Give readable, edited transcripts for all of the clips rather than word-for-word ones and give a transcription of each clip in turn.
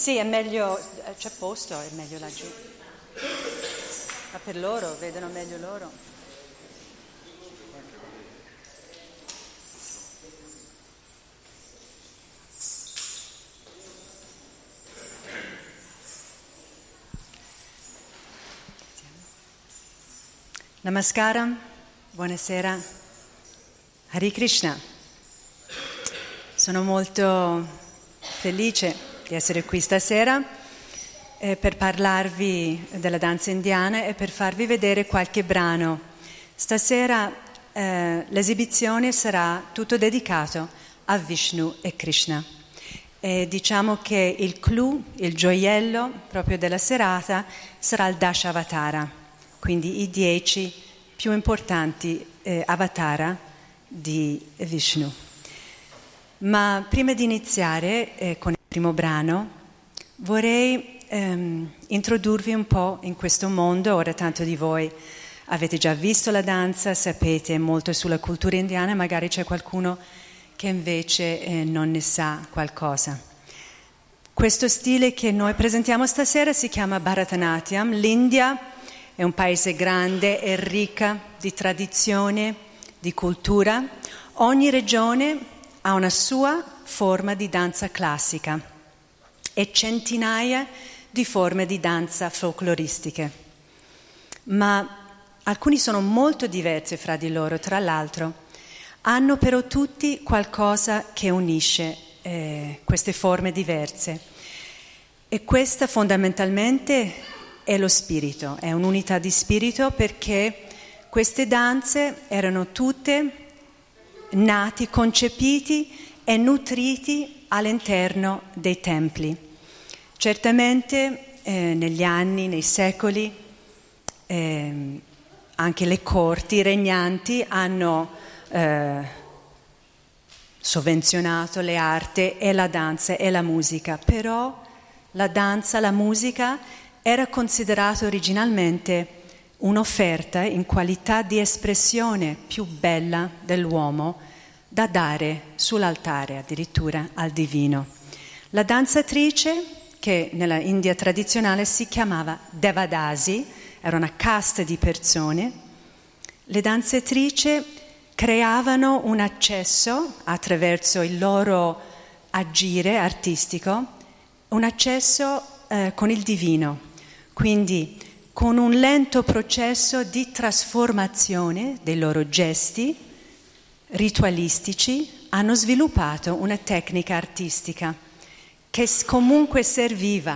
Sì, è meglio, c'è posto, è meglio laggiù. Ma per loro, vedono meglio loro. Namaskaram, buonasera, Hare Krishna. Sono molto felice di essere qui stasera per parlarvi della danza indiana e per farvi vedere qualche brano. Stasera l'esibizione sarà tutto dedicato a Vishnu e Krishna. E diciamo che il clou, il gioiello proprio della serata sarà il Dashavatara. Quindi i 10 più importanti avatara di Vishnu. Ma prima di iniziare con il primo brano, vorrei introdurvi un po' in questo mondo. Ora tanto di voi avete già visto la danza, sapete molto sulla cultura indiana, magari c'è qualcuno che invece non ne sa qualcosa. Questo stile che noi presentiamo stasera si chiama Bharatanatyam. L'India è un paese grande e ricca di tradizione, di cultura. Ogni regione ha una sua forma di danza classica e centinaia di forme di danza folcloristiche. Ma alcuni sono molto diversi fra di loro, tra l'altro. Hanno però tutti qualcosa che unisce queste forme diverse. E questa fondamentalmente è lo spirito, è un'unità di spirito, perché queste danze erano tutte nati, concepiti e nutriti all'interno dei templi. Certamente negli anni, nei secoli, anche le corti regnanti hanno sovvenzionato le arti e la danza e la musica, però la danza, la musica era considerato originalmente un'offerta in qualità di espressione più bella dell'uomo da dare sull'altare, addirittura al divino. La danzatrice, che nella India tradizionale si chiamava Devadasi, era una casta di persone, le danzatrici creavano un accesso attraverso il loro agire artistico, un accesso con il divino. Quindi con un lento processo di trasformazione dei loro gesti ritualistici hanno sviluppato una tecnica artistica che comunque serviva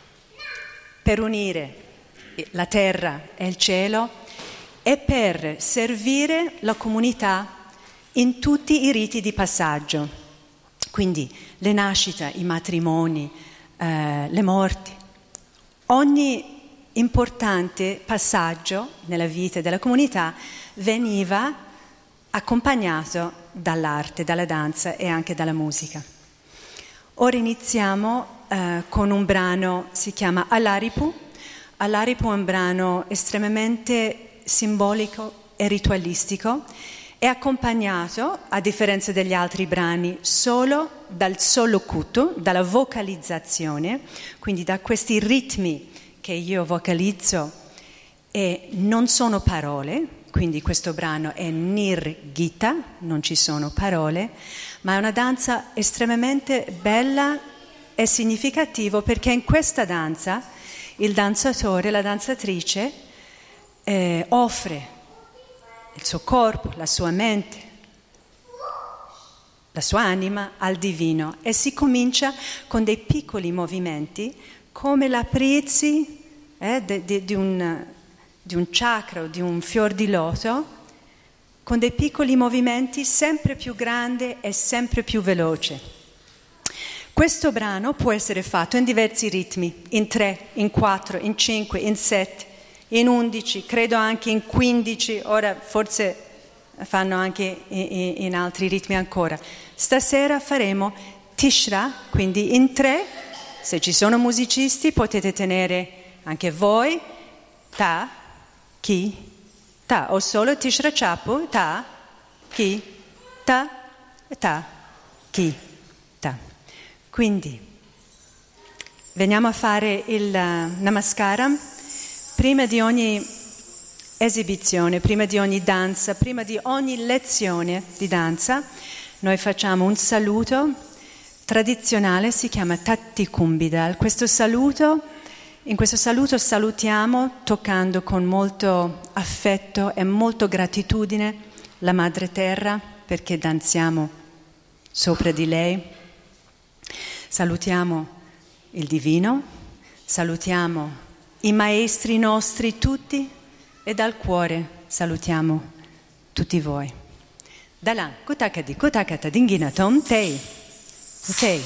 per unire la terra e il cielo e per servire la comunità in tutti i riti di passaggio. Quindi le nascite, i matrimoni, le morti. Ogni importante passaggio nella vita della comunità veniva accompagnato dall'arte, dalla danza e anche dalla musica. Ora iniziamo con un brano, si chiama Alaripu. Alaripu è un brano estremamente simbolico e ritualistico, è accompagnato, a differenza degli altri brani, solo dal solokutu, dalla vocalizzazione, quindi da questi ritmi che io vocalizzo e non sono parole, quindi questo brano è Nirgita, non ci sono parole, ma è una danza estremamente bella e significativa, perché in questa danza il danzatore, la danzatrice offre il suo corpo, la sua mente, la sua anima al divino, e si comincia con dei piccoli movimenti come l'aprirsi di un chakra o di un fior di loto, con dei piccoli movimenti sempre più grande e sempre più veloce. Questo brano può essere fatto in diversi ritmi, in 3, in 4, in 5, in 7, in 11, credo anche in 15, ora forse fanno anche in altri ritmi ancora. Stasera faremo Tishra, quindi in 3, se ci sono musicisti potete tenere anche voi, ta, ki, ta, o solo Tishra Chapu, ta, ki, ta, ki, ta. Quindi veniamo a fare il Namaskara prima di ogni esibizione, prima di ogni danza, prima di ogni lezione di danza. Noi facciamo un saluto tradizionale, si chiama Tatti Kumbidal. In questo saluto salutiamo toccando con molto affetto e molto gratitudine la Madre Terra, perché danziamo sopra di lei. Salutiamo il Divino, salutiamo i maestri nostri tutti e dal cuore salutiamo tutti voi. Dalan, kutakadi, kutakata dingina tom tei, tei.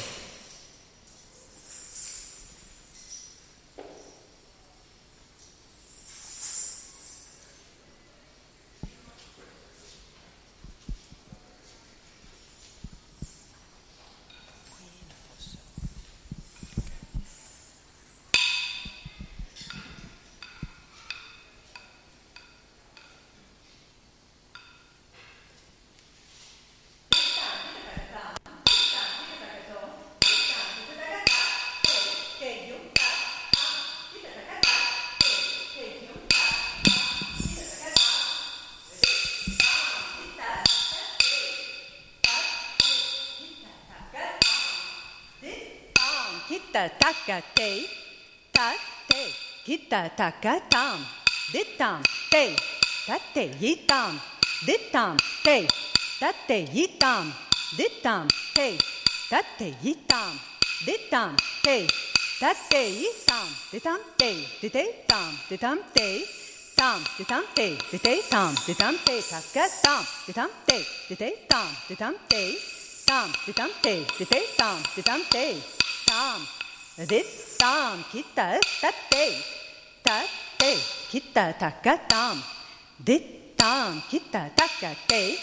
Kita taka te, ta te, kita taka tam, ditam te, ta te yitam, ditam te, ta te yitam, ditam te, ta te yitam, ditam te, ta te yitam, ditam te, dite tam, ditam te, tam, ditam te, dite tam, ditam te, taka tam, ditam te, dite tam, ditam te, tam, ditam te, dite tam, ditam te. Tam, dit tam, kita tate, kita taka tam, dit tam, kita taka te,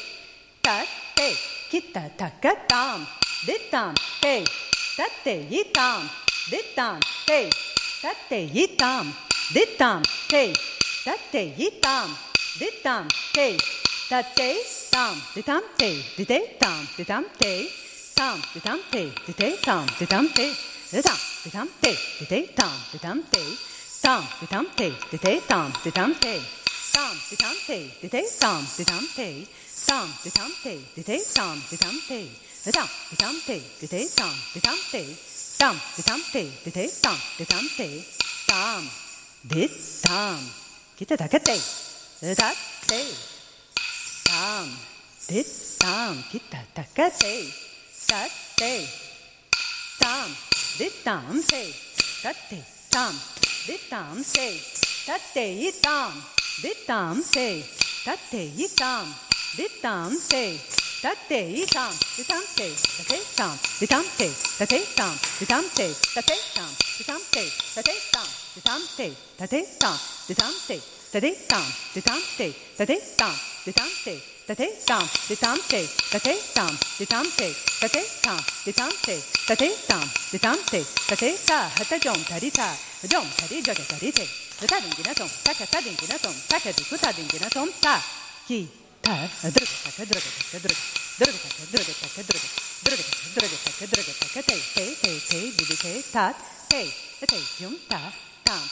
kita taka tam, dit tam te, tate yitam, dit tam te, tate yitam, dit tam te, tate yitam, dit tam te, tate tam, ditam te, dite tam, ditam te. Tam, ditam te, dite tam, ditam te, ditam, ditam te, dite tam, ditam te, tam, ditam te, dite tam, ditam te, tam, ditam te, dite tam, ditam te, tam, ditam te, dite tam, ditam te, ditam, ditam te, dite tam, ditam te, tam, ditam te, dite tam, ditam te, tam, dit tam, kita takate, ditat te, tam, dit tam, kita takate. Tate, tam, ditam se, tate, tam, ditam se, tate yitam, ditam se, tate yitam, ditam se, tate yitam, ditam se, tate tam, ditam se, tate tam, ditam se, tate tam, ditam se, tate tam, ditam se, tate tam, ditam se, tate tam, ditam se, tate tam, ditam se. Tate tam, ditam te, tate tam, ditam te, tate tam, ditam te, tate tam, ditam te, tate ta, hata jom tari jaga tari te, hata dingina tom, taka dingina tom, taka dikuta dingina tom, ta, ki, ta, druga taka, druga taka, druga taka, druga taka, druga taka, druga taka, te, didi te, tat, te, yum, ta, tam.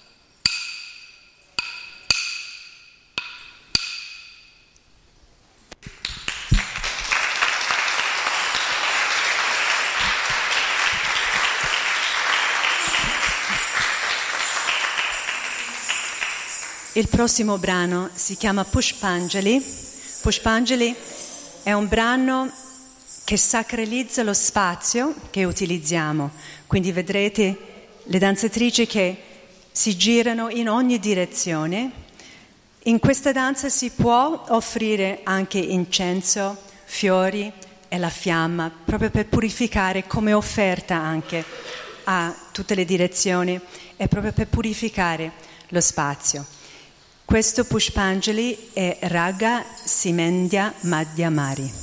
Il prossimo brano si chiama Pushpanjali. Pushpanjali è un brano che sacralizza lo spazio che utilizziamo. Quindi vedrete le danzatrici che si girano in ogni direzione. In questa danza si può offrire anche incenso, fiori e la fiamma, proprio per purificare, come offerta anche a tutte le direzioni, e proprio per purificare lo spazio. Questo Pushpanjali è Raga Simendya Madhyamari.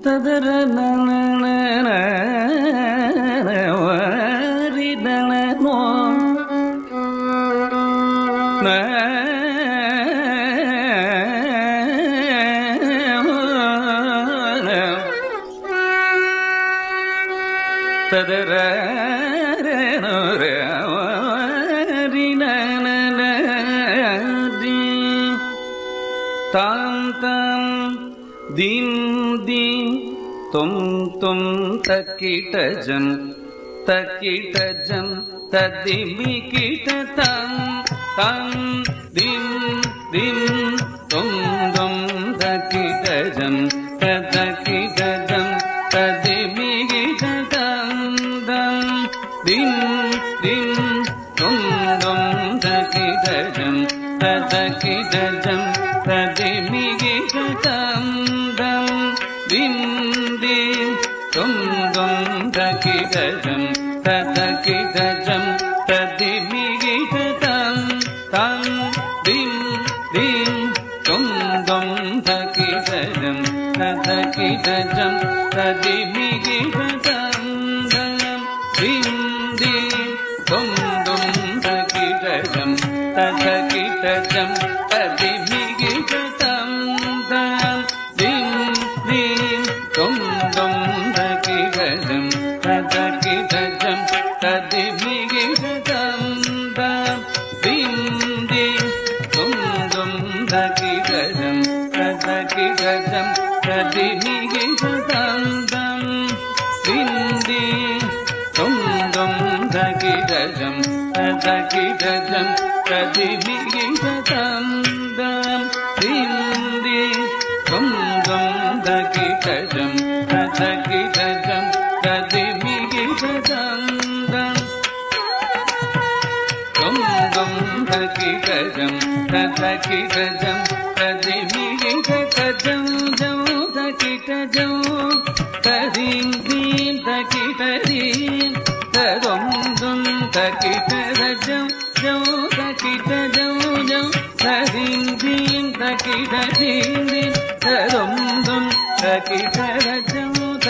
tum takitajam tadimikitatam tam dim dim tum takitajam tadimikitatam dam dim dim tum takitajam tadimikitatam dam dim dim tum takitajam tadimikitatam tam dim dim tum takitajam tadimikitatam dam dim dim tum takitajam tadimikitatam dam dim dim tum takitajam tadimikitatam dam dim dim tum takitajam tadimikitatam dam dim dim tum takitajam tadimikitatam dam dim dim tum takitajam tadimikitatam dam takitajam tadim dim takitajam tadum takitajam tadim dim takitajam tadum takitajam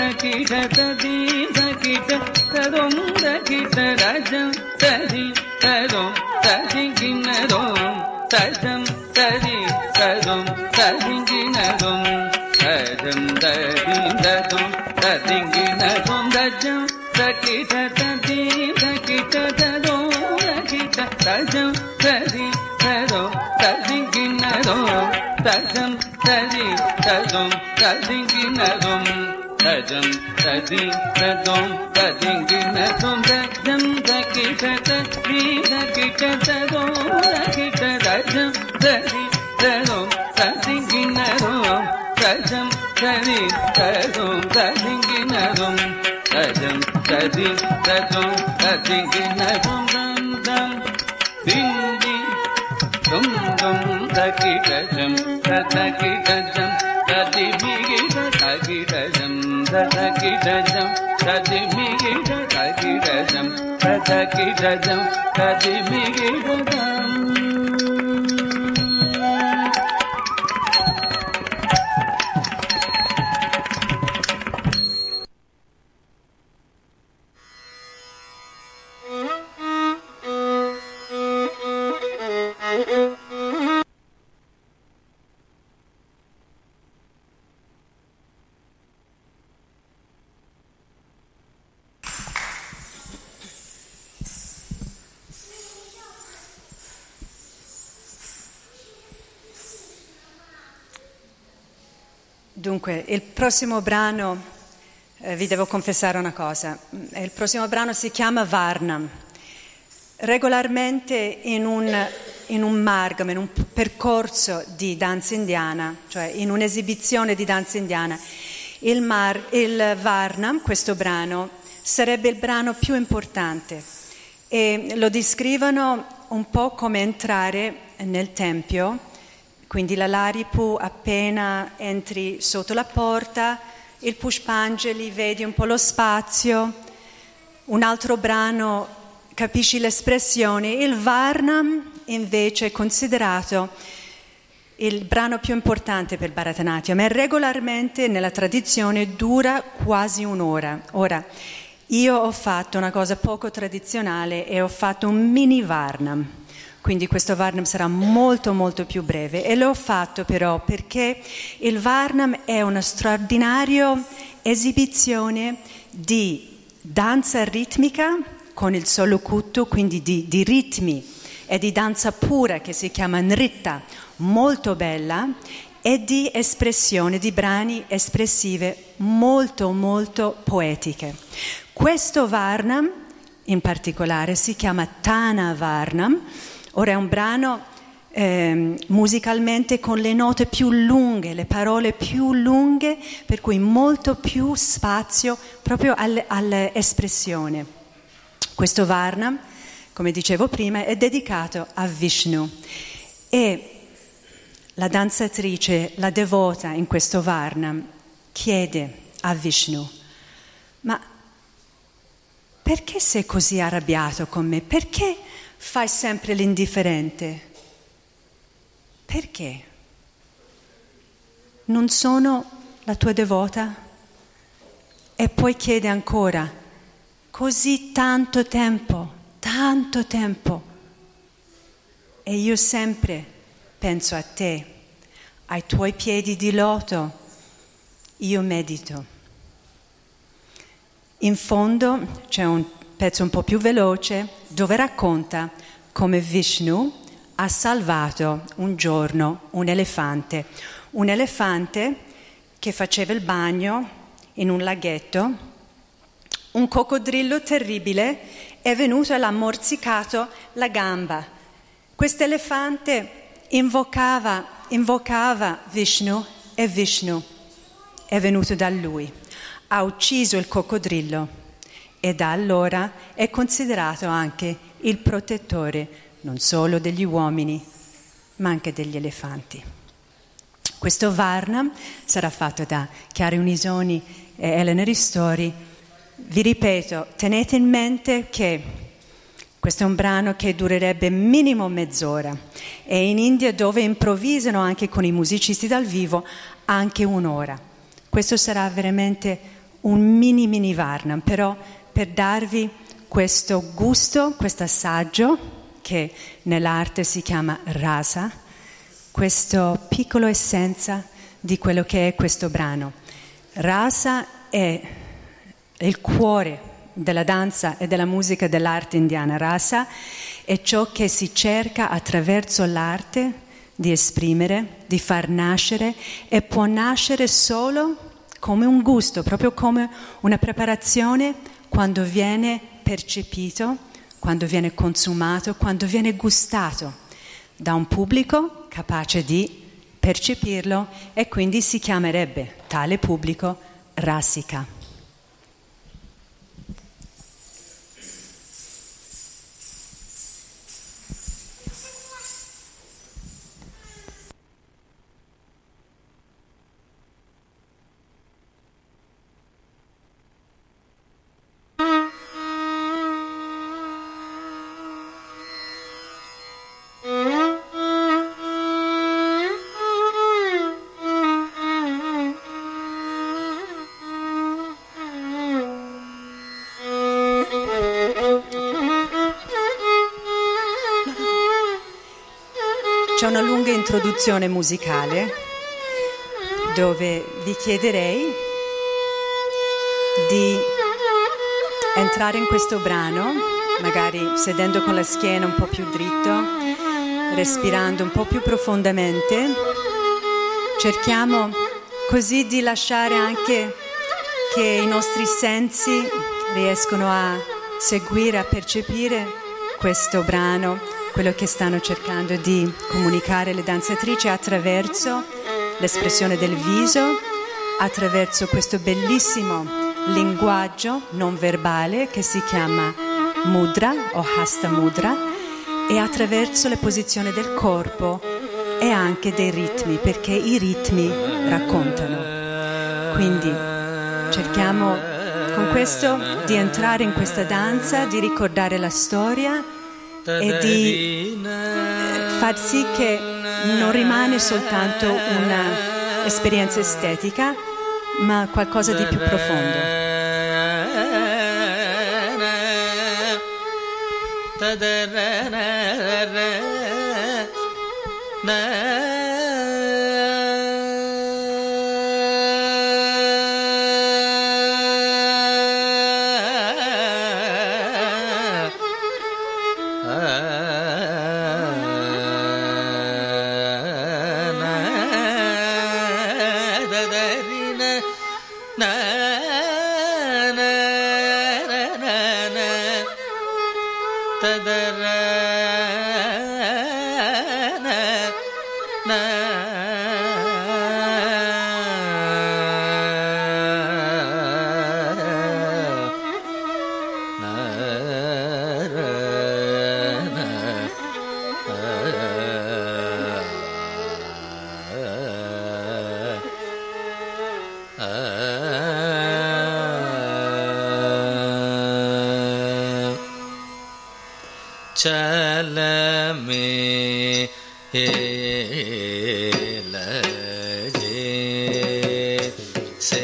tadum takitajam tadim tadum takinadum tadam tadim tadum takinadum tadam tadim tadum takinadum tadam takitadim takitadum takitadum tadim tadum takinadum tadam tadim tadum takinadum tadam tadim tadum takinadum tadam takitadum takitadum takitadum tadim tadum takinadum tadam tadim tadum takinadum tadam tadim tadum takinadum dam dim dim tum takitajam tadimikitatam tadimikitatam tadimikitatam Dunque, il prossimo brano, vi devo confessare una cosa, il prossimo brano si chiama Varnam. Regolarmente in un margam, in un percorso di danza indiana, cioè in un'esibizione di danza indiana, il Varnam, questo brano, sarebbe il brano più importante e lo descrivono un po' come entrare nel tempio. Quindi la Laripu, appena entri sotto la porta, il Pushpanjali, vedi un po' lo spazio, un altro brano, capisci l'espressione. Il Varnam invece è considerato il brano più importante per Bharatanatyam e regolarmente nella tradizione dura quasi un'ora. Ora, io ho fatto una cosa poco tradizionale e ho fatto un mini Varnam, quindi questo Varnam sarà molto molto più breve e l'ho fatto però perché il Varnam è una straordinaria esibizione di danza ritmica con il solo kuttu, quindi di ritmi e di danza pura che si chiama Nritta, molto bella, e di espressione, di brani espressive molto molto poetiche. Questo Varnam in particolare si chiama Tana Varnam. Ora è un brano musicalmente con le note più lunghe, le parole più lunghe, per cui molto più spazio proprio all'espressione. Questo Varnam, come dicevo prima, è dedicato a Vishnu e la danzatrice, la devota in questo Varnam, chiede a Vishnu: ma perché sei così arrabbiato con me? Perché fai sempre l'indifferente? Perché? Non sono la tua devota? E poi chiede ancora: così tanto tempo, e io sempre penso a te, ai tuoi piedi di loto, io medito. In fondo c'è un pezzo un po' più veloce dove racconta come Vishnu ha salvato un giorno un elefante che faceva il bagno in un laghetto. Un coccodrillo terribile è venuto e l'ha morsicato la gamba. Quest'elefante invocava Vishnu e Vishnu è venuto da lui. Ha ucciso il coccodrillo e da allora è considerato anche il protettore non solo degli uomini, ma anche degli elefanti. Questo Varnam sarà fatto da Chiara Unisoni e Elena Ristori. Vi ripeto, tenete in mente che questo è un brano che durerebbe minimo mezz'ora e in India, dove improvvisano anche con i musicisti dal vivo, anche un'ora. Questo sarà veramente un mini Varnam, però per darvi questo gusto, questo assaggio che nell'arte si chiama rasa, questa piccola essenza di quello che è questo brano. Rasa è il cuore della danza e della musica dell'arte indiana. Rasa è ciò che si cerca attraverso l'arte di esprimere, di far nascere, e può nascere solo come un gusto, proprio come una preparazione quando viene percepito, quando viene consumato, quando viene gustato da un pubblico capace di percepirlo, e quindi si chiamerebbe tale pubblico rasika. C'è una lunga introduzione musicale dove vi chiederei di entrare in questo brano, magari sedendo con la schiena un po' più dritto, respirando un po' più profondamente. Cerchiamo così di lasciare anche che i nostri sensi riescono a seguire, a percepire questo brano, quello che stanno cercando di comunicare le danzatrici attraverso l'espressione del viso, attraverso questo bellissimo linguaggio non verbale che si chiama mudra o hasta mudra, e attraverso le posizioni del corpo e anche dei ritmi, perché i ritmi raccontano. Quindi cerchiamo con questo di entrare in questa danza, di ricordare la storia e di far sì che non rimane soltanto un'esperienza estetica, ma qualcosa di più profondo. चल में लजे से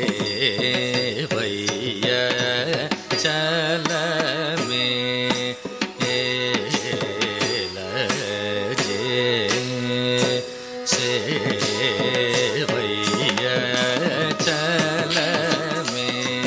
भैया चल में लजे से भैया चल में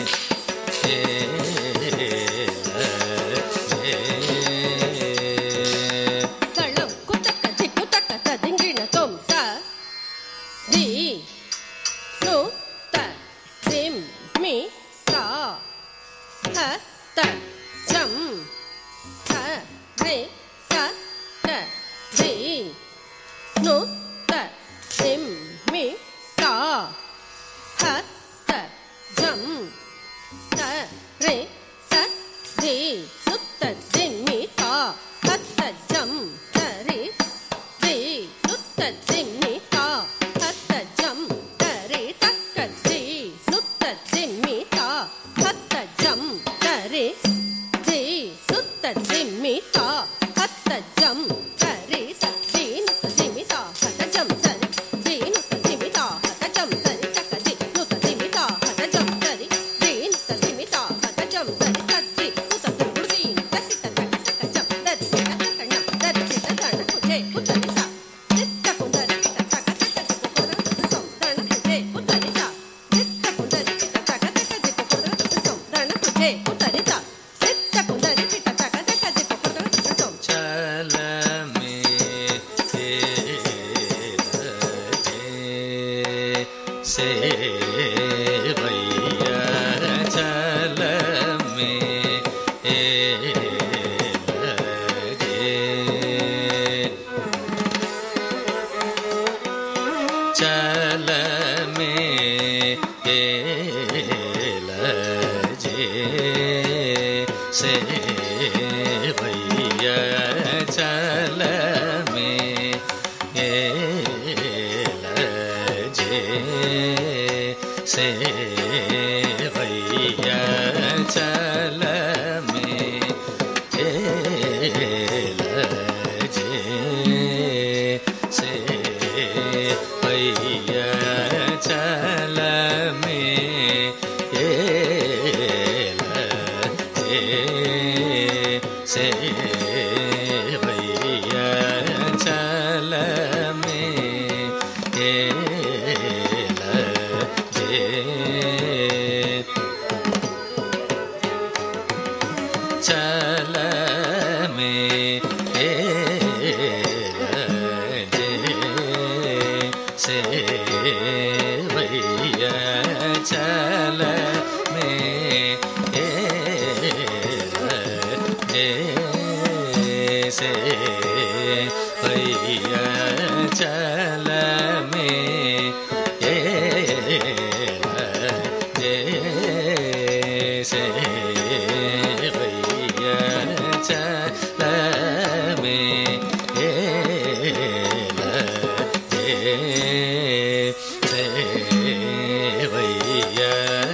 भैया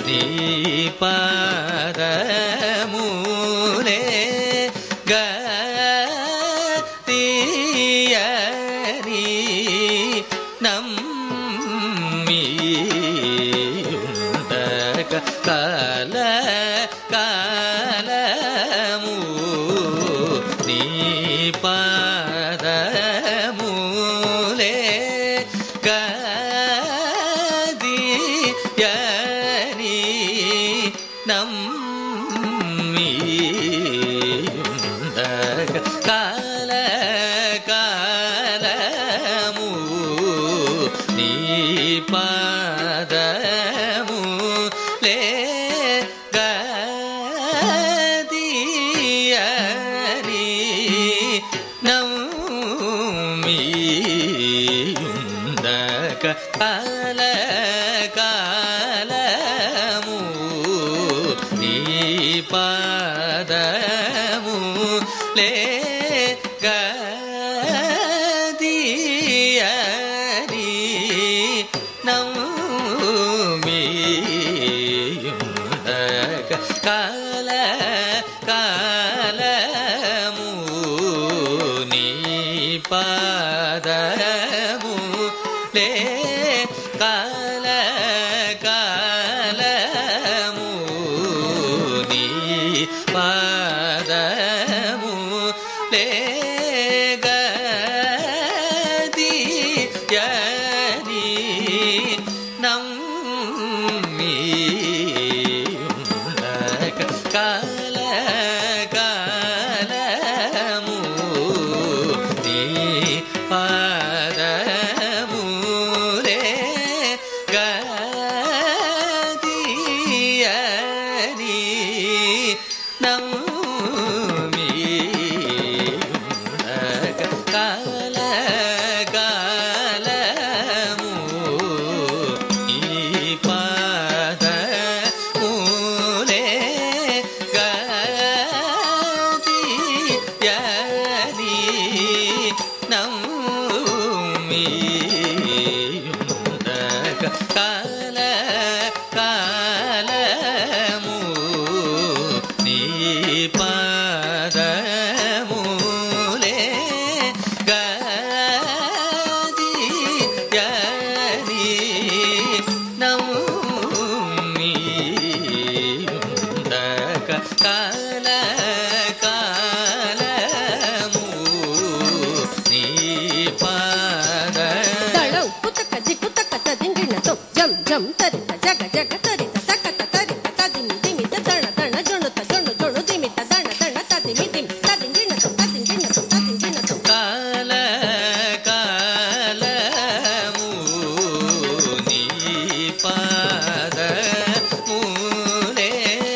நீ பாதமூலே கதியரி நம்மியுண்ட கால காலமூ நீ பாதமூலே கதியரி நம்மியுண்ட கால காலமூ நீ பாதமூலே கதியரி நம்மியுண்ட கால காலமூ நீ பாதமூலே கதியரி நம்மியுண்ட கால காலமூ நீ பாதமூலே கால காலமூ நீ பாதமூலே கதியரி நம்மியுண்ட கால காலமூ நீ பாதமூலே கதியரி நம்மியுண்ட கால காலமூ நீ பாதமூலே கதியரி நம்மியுண்ட கால காலமூ நீ பாதமூலே கதியரி நம்மியுண்ட கால காலமூ நீ பாத தளௌ குத்தக்க ஜிக்குத்தக்க ததிங்கிணதோ ஜம் ஜம் தரித ஜக ஜக தரித தக்கத தரித ததிமி திமித தண தண ஜொணுத ஜொணு ஜொணு திமித தண தண ததிமி திமி ததிங்கிணதோ ததிங்கிணதோ ததிங்கிணதோ கால காலமூ நீ பாதமூலே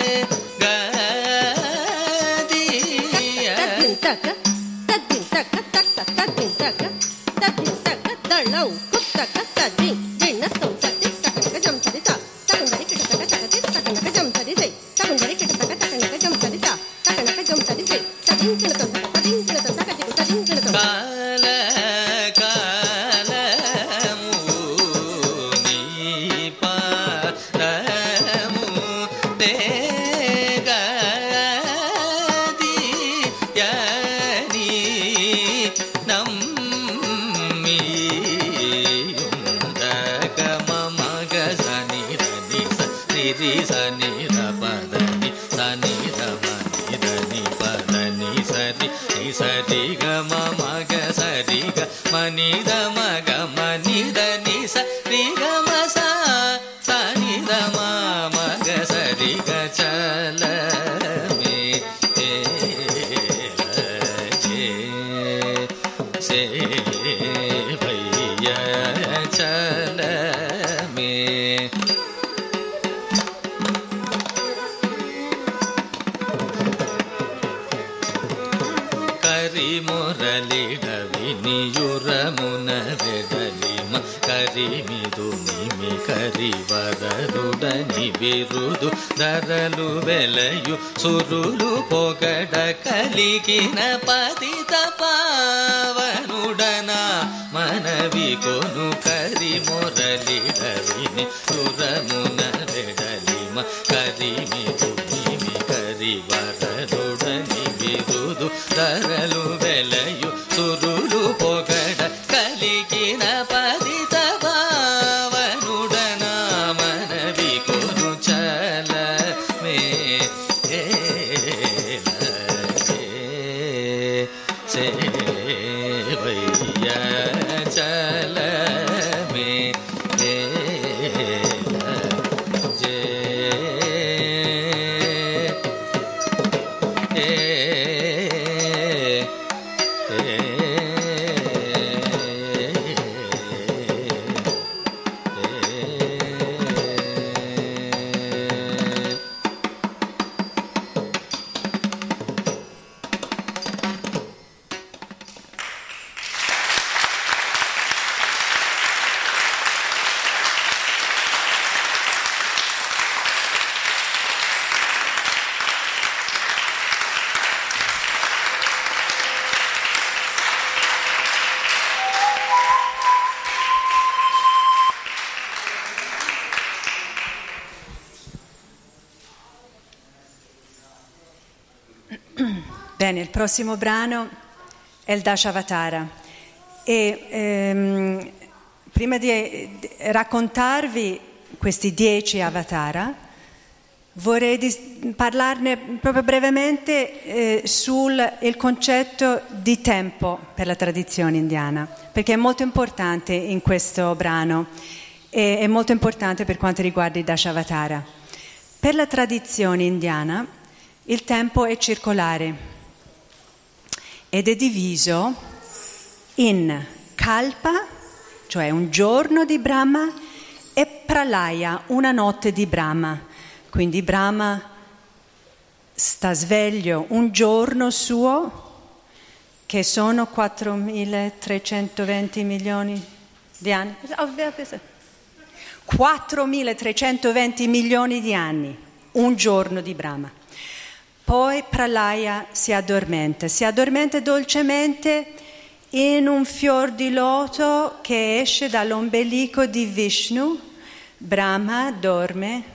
கதியரி தக்க தத்தின் தக்க தக்க தத்தின் தக்க தத்தின் தக்க தளௌ குத்தக்க ததிங் கிணதோ ததி தக்கனக ஜம் தரிதா தக்கனரி கிட்டதக்க தகதி தக்கனக ஜம் தரிதை தக்கனரி கிட்டதக்க தக்கனக ஜம் தரிதா தக்கனக ஜம் தரிதை ததிங்கிணதோ ததிங்கிணதோ தகதி ததிங்கிணதோ கால காலமூ நீ பாதமூலே கதியரி நம்மியுண்ட கமமக சனிதனி சரி சனித பதனி சனித மனிதனி பதனி சரி சரி கமமக சரி க மனித மக மனிதனி சரி கம சனித மக சரி க சலமே से भैया चल में करी मुरलिड विनियुरमुन वेडलिम करी मिदुनिमि करी वररुडनि बिरुदु दरलु वेलयु सुरुलु पोगड कलिगिन पतित पावनुडना मनवि कोनु करी मुरलिड विनियुरमुन वेडलिम ధరలు వెలయు సురులు పొగడ కలిగిన పదిత భావనుడనా మనవి కొను చలమే సేవయ్య చలమే Bene, il prossimo brano è il Dashavatara e prima di raccontarvi questi 10 avatara vorrei parlarne proprio brevemente sul il concetto di tempo per la tradizione indiana, perché è molto importante in questo brano e è molto importante per quanto riguarda i Dashavatara. Per la tradizione indiana il tempo è circolare ed è diviso in Kalpa, cioè un giorno di Brahma, e Pralaya, una notte di Brahma. Quindi Brahma sta sveglio un giorno suo, che sono 4.320 milioni di anni. 4.320 milioni di anni, un giorno di Brahma. Poi Pralaya si addormenta dolcemente in un fior di loto che esce dall'ombelico di Vishnu. Brahma dorme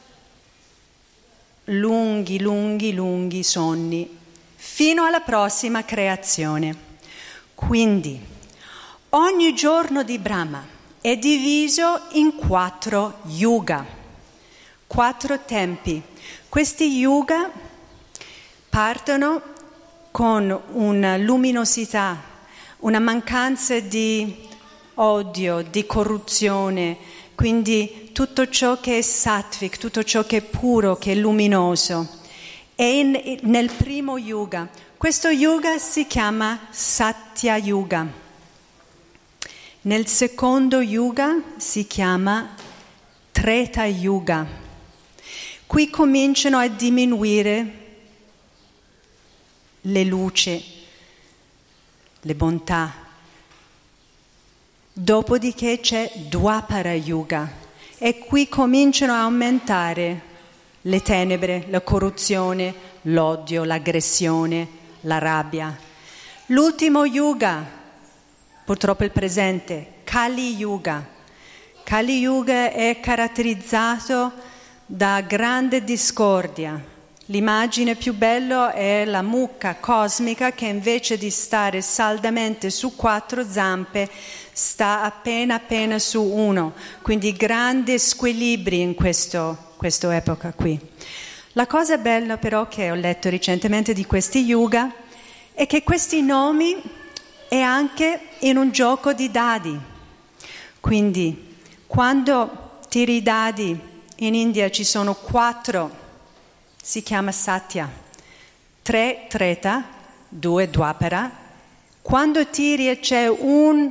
lunghi sonni fino alla prossima creazione. Quindi ogni giorno di Brahma è diviso in 4 yuga, 4 tempi. Questi yuga partono con una luminosità, una mancanza di odio, di corruzione, quindi tutto ciò che è sattvic, tutto ciò che è puro, che è luminoso. E nel primo yuga, questo yuga si chiama Satya Yuga. Nel secondo yuga si chiama Treta Yuga. Qui cominciano a diminuire le luci, le bontà. Dopodiché c'è Dwapara Yuga e qui cominciano a aumentare le tenebre, la corruzione, l'odio, l'aggressione, la rabbia. L'ultimo Yuga, purtroppo il presente, Kali Yuga. Kali Yuga è caratterizzato da grande discordia. L'immagine più bella è la mucca cosmica che invece di stare saldamente su 4 zampe sta appena su 1, quindi grandi squilibri in questa epoca qui. La cosa bella però che ho letto recentemente di questi yuga è che questi nomi è anche in un gioco di dadi. Quindi quando tiri i dadi in India ci sono 4, si chiama Satya, 3 Treta, 2 Dwapara. Quando tiri e c'è un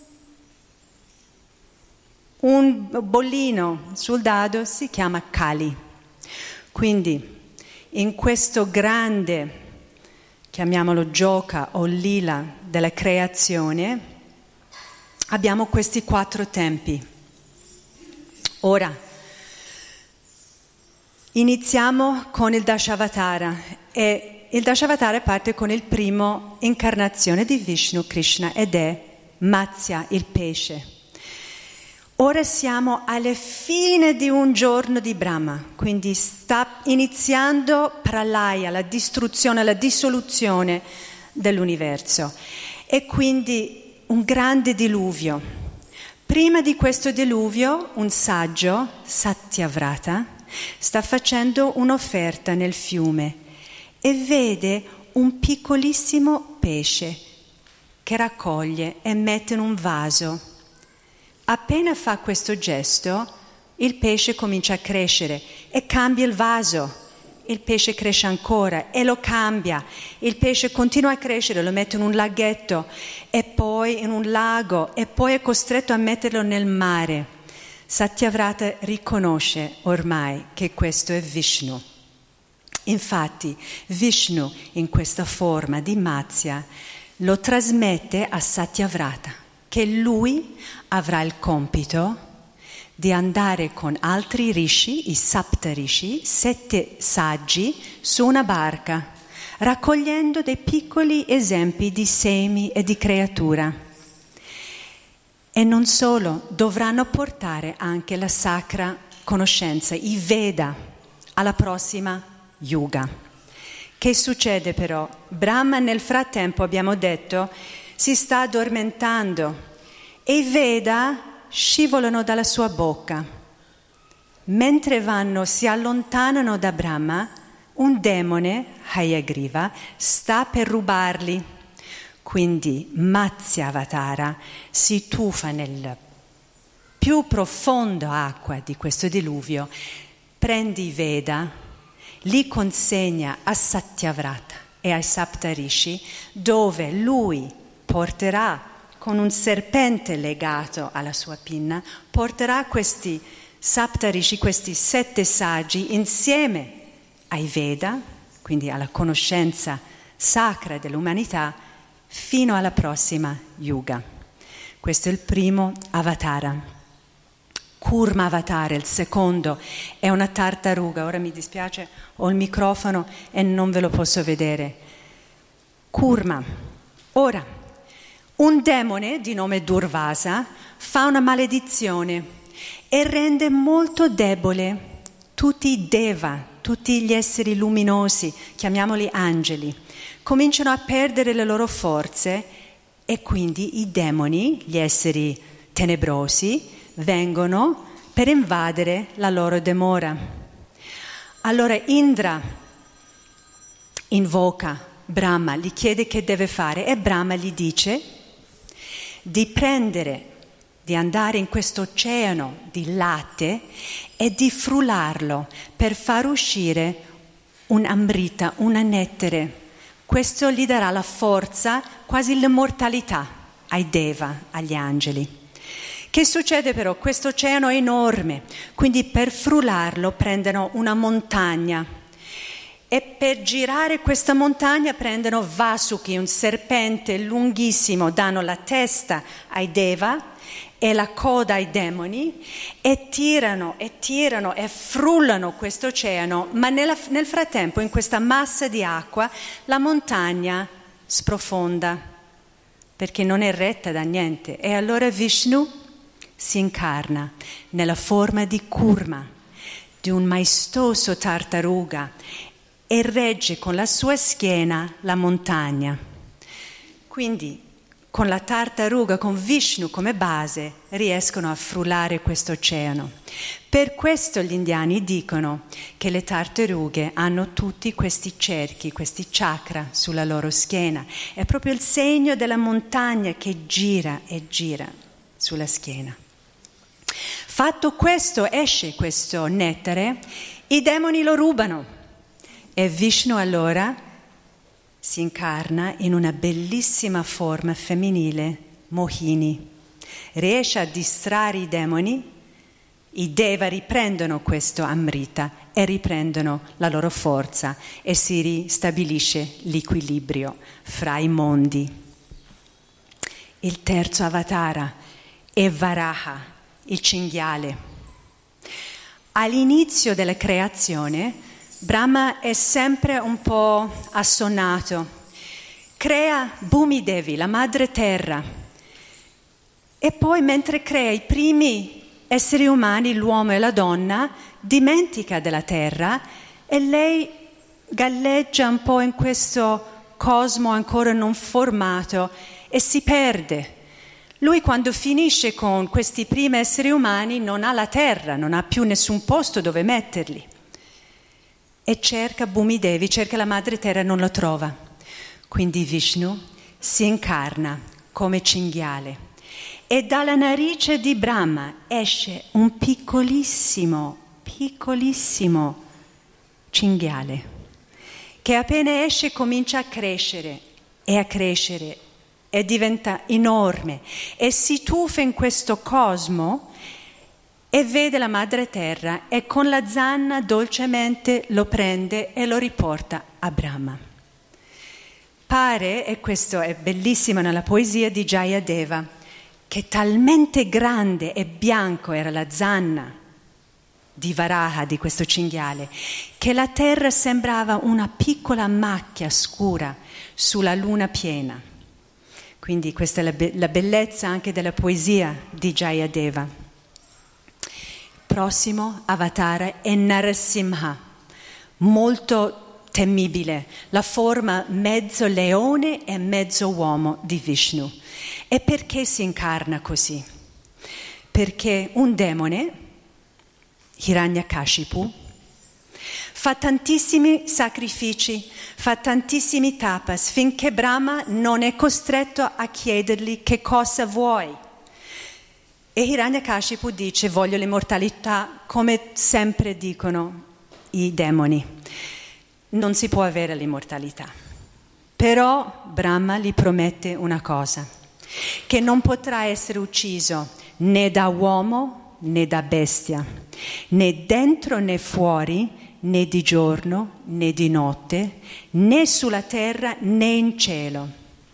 bollino sul dado si chiama Kali. Quindi in questo grande, chiamiamolo gioca o lila della creazione, abbiamo questi 4 tempi. Ora iniziamo con il Dashavatara e il Dashavatara parte con il primo incarnazione di Vishnu Krishna ed è Matsya, il pesce. Ora siamo alla fine di un giorno di Brahma, quindi sta iniziando Pralaya, la distruzione, la dissoluzione dell'universo. E quindi un grande diluvio. Prima di questo diluvio, un saggio, Satyavrata, sta facendo un'offerta nel fiume e vede un piccolissimo pesce che raccoglie e mette in un vaso. Appena fa questo gesto, il pesce comincia a crescere e cambia il vaso. Il pesce cresce ancora e lo cambia. Il pesce continua a crescere, lo mette in un laghetto e poi in un lago e poi è costretto a metterlo nel mare. Satyavrata riconosce ormai che questo è Vishnu. Infatti Vishnu in questa forma di Matsya lo trasmette a Satyavrata, che lui avrà il compito di andare con altri rishi, i Sapta Rishi, 7 saggi, su una barca, raccogliendo dei piccoli esempi di semi e di creatura. E non solo, dovranno portare anche la sacra conoscenza, i Veda, alla prossima Yuga. Che succede però? Brahma nel frattempo, abbiamo detto, si sta addormentando e i Veda scivolano dalla sua bocca. Mentre si allontanano da Brahma, un demone, Hayagriva, sta per rubarli. Quindi Matsya Avatara si tuffa nel più profondo acqua di questo diluvio, prende i Veda, li consegna a Satyavrata e ai Saptarishi, dove lui porterà con un serpente legato alla sua pinna, porterà questi Saptarishi, questi 7 saggi, insieme ai Veda, quindi alla conoscenza sacra dell'umanità, fino alla prossima Yuga. Questo è il primo avatara. Kurma Avatara, il secondo, è una tartaruga. Ora mi dispiace, ho il microfono e non ve lo posso vedere. Kurma. Ora, un demone di nome Durvasa fa una maledizione e rende molto debole tutti i Deva, tutti gli esseri luminosi, chiamiamoli angeli. Cominciano a perdere le loro forze e quindi i demoni, gli esseri tenebrosi, vengono per invadere la loro dimora. Allora Indra invoca Brahma, gli chiede che deve fare e Brahma gli dice di andare in questo oceano di latte e di frullarlo per far uscire un amrita, una nettare. Questo gli darà la forza, quasi l'immortalità ai Deva, agli angeli. Che succede però? Questo oceano è enorme, quindi per frullarlo prendono una montagna e per girare questa montagna prendono Vasuki, un serpente lunghissimo, danno la testa ai Deva e la coda ai demoni e tirano e frullano questo oceano, ma nel frattempo in questa massa di acqua la montagna sprofonda perché non è retta da niente e allora Vishnu si incarna nella forma di Kurma, di un maestoso tartaruga e regge con la sua schiena la montagna. Quindi con la tartaruga, con Vishnu come base, riescono a frullare questo oceano. Per questo gli indiani dicono che le tartarughe hanno tutti questi cerchi, questi chakra sulla loro schiena. È proprio il segno della montagna che gira e gira sulla schiena. Fatto questo, esce questo nettare, i demoni lo rubano e Vishnu allora si incarna in una bellissima forma femminile, Mohini. Riesce a distrarre i demoni, i Deva riprendono questo Amrita e riprendono la loro forza e si ristabilisce l'equilibrio fra i mondi. Il terzo avatara è Varaha, il cinghiale. All'inizio della creazione Brahma è sempre un po' assonnato. Crea Bhumi Devi, la madre terra. E poi mentre crea i primi esseri umani, l'uomo e la donna, dimentica della terra e lei galleggia un po' in questo cosmo ancora non formato e si perde. Lui, quando finisce con questi primi esseri umani, non ha la terra, non ha più nessun posto dove metterli. E cerca Bhumi Devi, cerca la madre terra, non lo trova. Quindi Vishnu si incarna come cinghiale e dalla narice di Brahma esce un piccolissimo cinghiale che appena esce comincia a crescere e diventa enorme e si tuffa in questo cosmo e vede la madre terra e con la zanna dolcemente lo prende e lo riporta a Brahma. Pare, e questo è bellissimo nella poesia di Jayadeva, che talmente grande e bianco era la zanna di Varaha, di questo cinghiale, che la terra sembrava una piccola macchia scura sulla luna piena. Quindi questa è la bellezza anche della poesia di Jayadeva. Il prossimo avatar è Narasimha, molto temibile, la forma mezzo leone e mezzo uomo di Vishnu. E perché si incarna così? Perché un demone, Hiranyakashipu, fa tantissimi sacrifici, fa tantissimi tapas, finché Brahma non è costretto a chiedergli che cosa vuoi. E Hiranyakashipu dice: voglio l'immortalità, come sempre dicono i demoni. Non si può avere l'immortalità. Però Brahma gli promette una cosa, che non potrà essere ucciso né da uomo né da bestia, né dentro né fuori, né di giorno né di notte, né sulla terra né in cielo.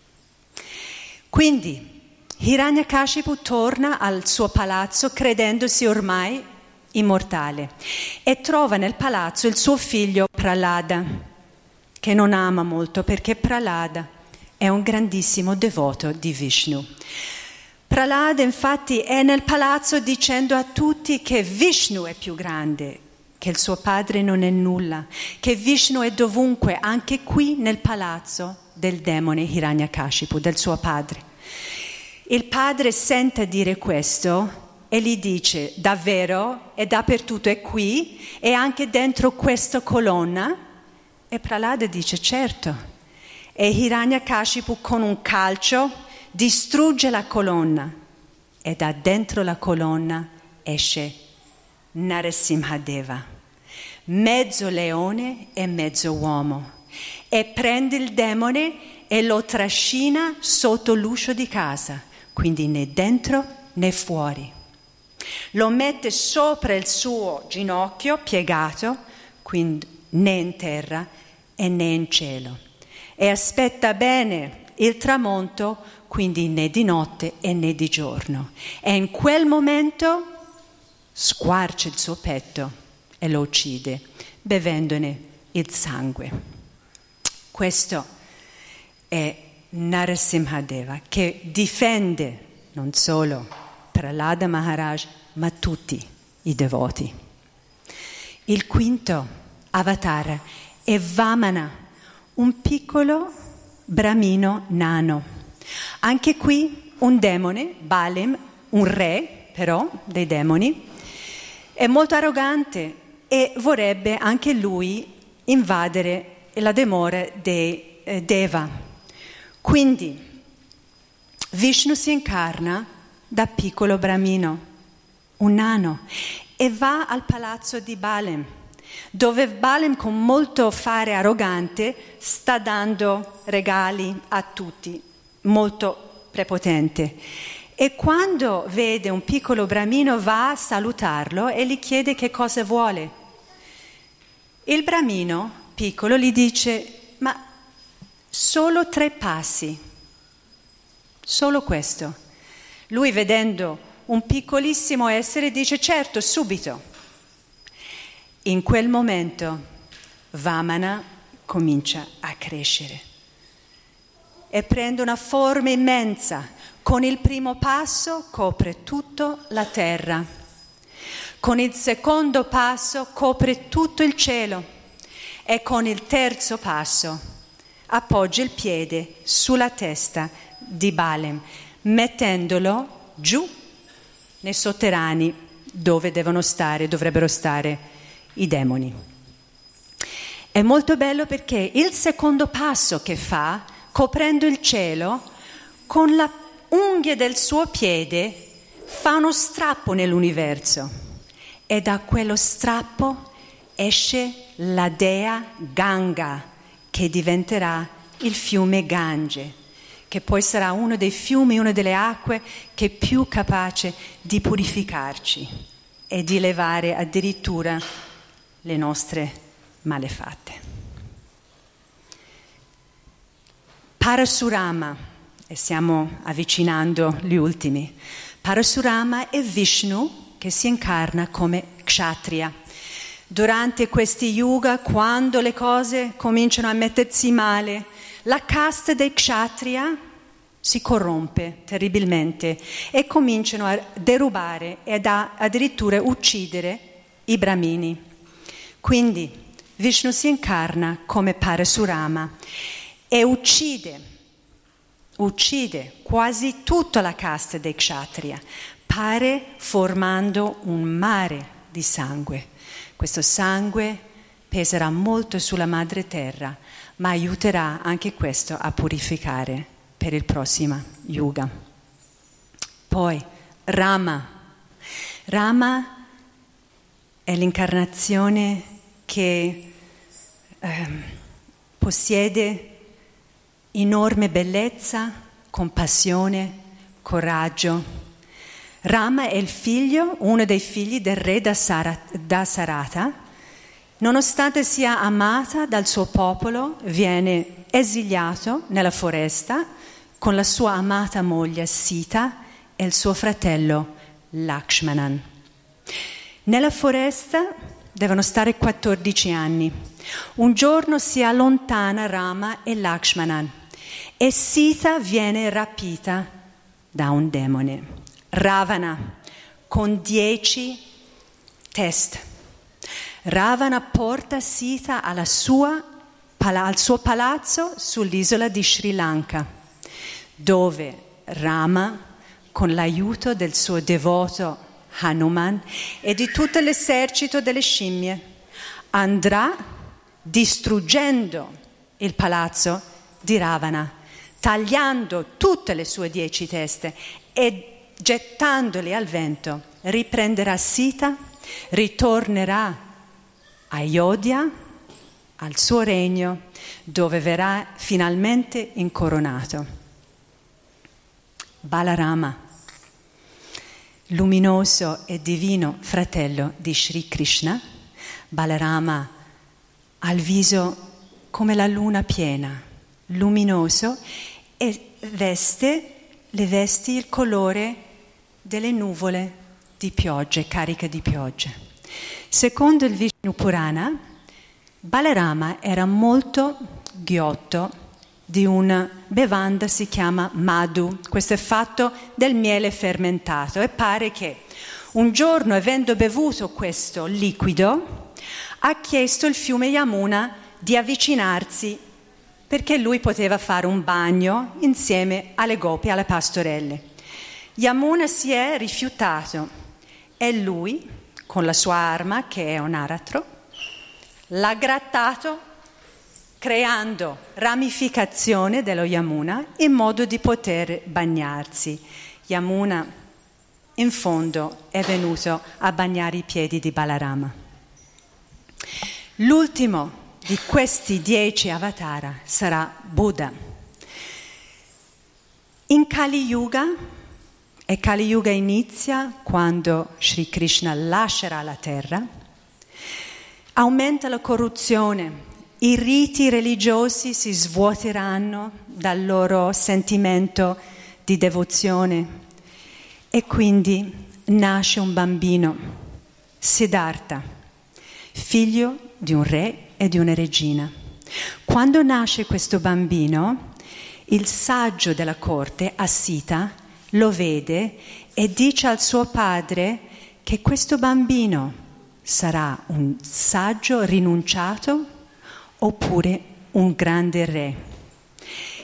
Quindi Hiranyakashipu torna al suo palazzo credendosi ormai immortale e trova nel palazzo il suo figlio Prahlada, che non ama molto perché Prahlada è un grandissimo devoto di Vishnu. Prahlada infatti è nel palazzo dicendo a tutti che Vishnu è più grande, che il suo padre non è nulla, che Vishnu è dovunque, anche qui nel palazzo del demone Hiranyakashipu, del suo padre. Il padre sente dire questo e gli dice: davvero? È dappertutto, è qui? E anche dentro questa colonna? E Prahlada dice: certo. E Hiranyakashipu con un calcio distrugge la colonna e da dentro la colonna esce Narasimhadeva, mezzo leone e mezzo uomo, e prende il demone e lo trascina sotto l'uscio di casa, quindi né dentro né fuori. Lo mette sopra il suo ginocchio piegato, quindi né in terra e né in cielo, e aspetta bene il tramonto, quindi né di notte e né di giorno. E in quel momento squarcia il suo petto e lo uccide, bevendone il sangue. Questo è Narasimhadeva, che difende non solo Prahlada Maharaj, ma tutti i devoti. Il quinto avatar è Vamana, un piccolo bramino nano. Anche qui un demone, Balim, un re però dei demoni, è molto arrogante e vorrebbe anche lui invadere la dimora dei Deva. Quindi Vishnu si incarna da piccolo bramino, un nano, e va al palazzo di Balim, dove Balim con molto fare arrogante sta dando regali a tutti, molto prepotente. E quando vede un piccolo bramino va a salutarlo e gli chiede che cosa vuole. Il bramino piccolo gli dice: ma solo 3 passi, solo questo. Lui, vedendo un piccolissimo essere, dice: certo, subito. In quel momento Vamana comincia a crescere e prende una forma immensa. Con il primo passo copre tutta la terra, con il secondo passo copre tutto il cielo e con il terzo passo appoggia il piede sulla testa di Balem, mettendolo giù nei sotterranei dove dovrebbero stare i demoni. È molto bello perché il secondo passo che fa, coprendo il cielo, con la unghia del suo piede fa uno strappo nell'universo e da quello strappo esce la dea Ganga, che diventerà il fiume Gange, che poi sarà uno dei fiumi, una delle acque che è più capace di purificarci e di levare addirittura le nostre malefatte. Parasurama, e stiamo avvicinando gli ultimi, Parasurama è Vishnu che si incarna come Kshatriya. Durante questi yuga, quando le cose cominciano a mettersi male, la casta dei Kshatriya si corrompe terribilmente e cominciano a derubare e addirittura uccidere i Brahmini. Quindi Vishnu si incarna come Parasurama e uccide quasi tutta la casta dei Kshatriya, formando un mare di sangue. Questo sangue peserà molto sulla madre terra, ma aiuterà anche questo a purificare per il prossimo yuga. Poi Rama è l'incarnazione che possiede enorme bellezza, compassione, coraggio. Rama è uno dei figli del re Dasarata. Nonostante sia amata dal suo popolo, viene esiliato nella foresta con la sua amata moglie Sita e il suo fratello Lakshmanan. Nella foresta devono stare 14 anni. Un giorno si allontana Rama e Lakshmanan e Sita viene rapita da un demone, Ravana, con 10 teste. Ravana porta Sita al suo palazzo sull'isola di Sri Lanka, dove Rama, con l'aiuto del suo devoto Hanuman e di tutto l'esercito delle scimmie, andrà distruggendo il palazzo di Ravana, tagliando tutte le sue 10 teste e gettandoli al vento. Riprenderà Sita, ritornerà a Ayodhya, al suo regno, dove verrà finalmente incoronato. Balarama, luminoso e divino fratello di Sri Krishna. Balarama ha il viso come la luna piena, luminoso, e le vesti il colore delle nuvole di piogge, cariche di piogge. Secondo il Vishnu Purana, Balarama era molto ghiotto di una bevanda, si chiama Madhu. Questo è fatto del miele fermentato e pare che un giorno, avendo bevuto questo liquido, ha chiesto il fiume Yamuna di avvicinarsi perché lui poteva fare un bagno insieme alle gopi, alle pastorelle. Yamuna si è rifiutato e lui, con la sua arma, che è un aratro, l'ha grattato, creando ramificazione dello Yamuna in modo di poter bagnarsi. Yamuna, in fondo, è venuto a bagnare i piedi di Balarama. L'ultimo di questi 10 avatara sarà Buddha. In Kali Yuga, e Kali Yuga inizia quando Sri Krishna lascerà la terra, aumenta la corruzione, i riti religiosi si svuoteranno dal loro sentimento di devozione e quindi nasce un bambino, Siddhartha, figlio di un re e di una regina. Quando nasce questo bambino, il saggio della corte, Asita, lo vede e dice al suo padre che questo bambino sarà un saggio rinunciato oppure un grande re.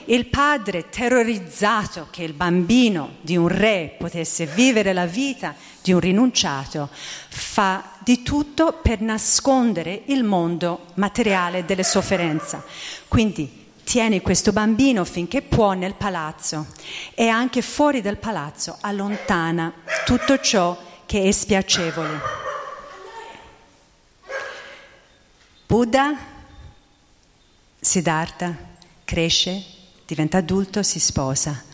il padre, terrorizzato che il bambino di un re potesse vivere la vita di un rinunciato, fa di tutto per nascondere il mondo materiale delle sofferenze. Quindi tiene questo bambino finché può nel palazzo e anche fuori del palazzo allontana tutto ciò che è spiacevole. Buddha, Siddhartha, cresce, diventa adulto, si sposa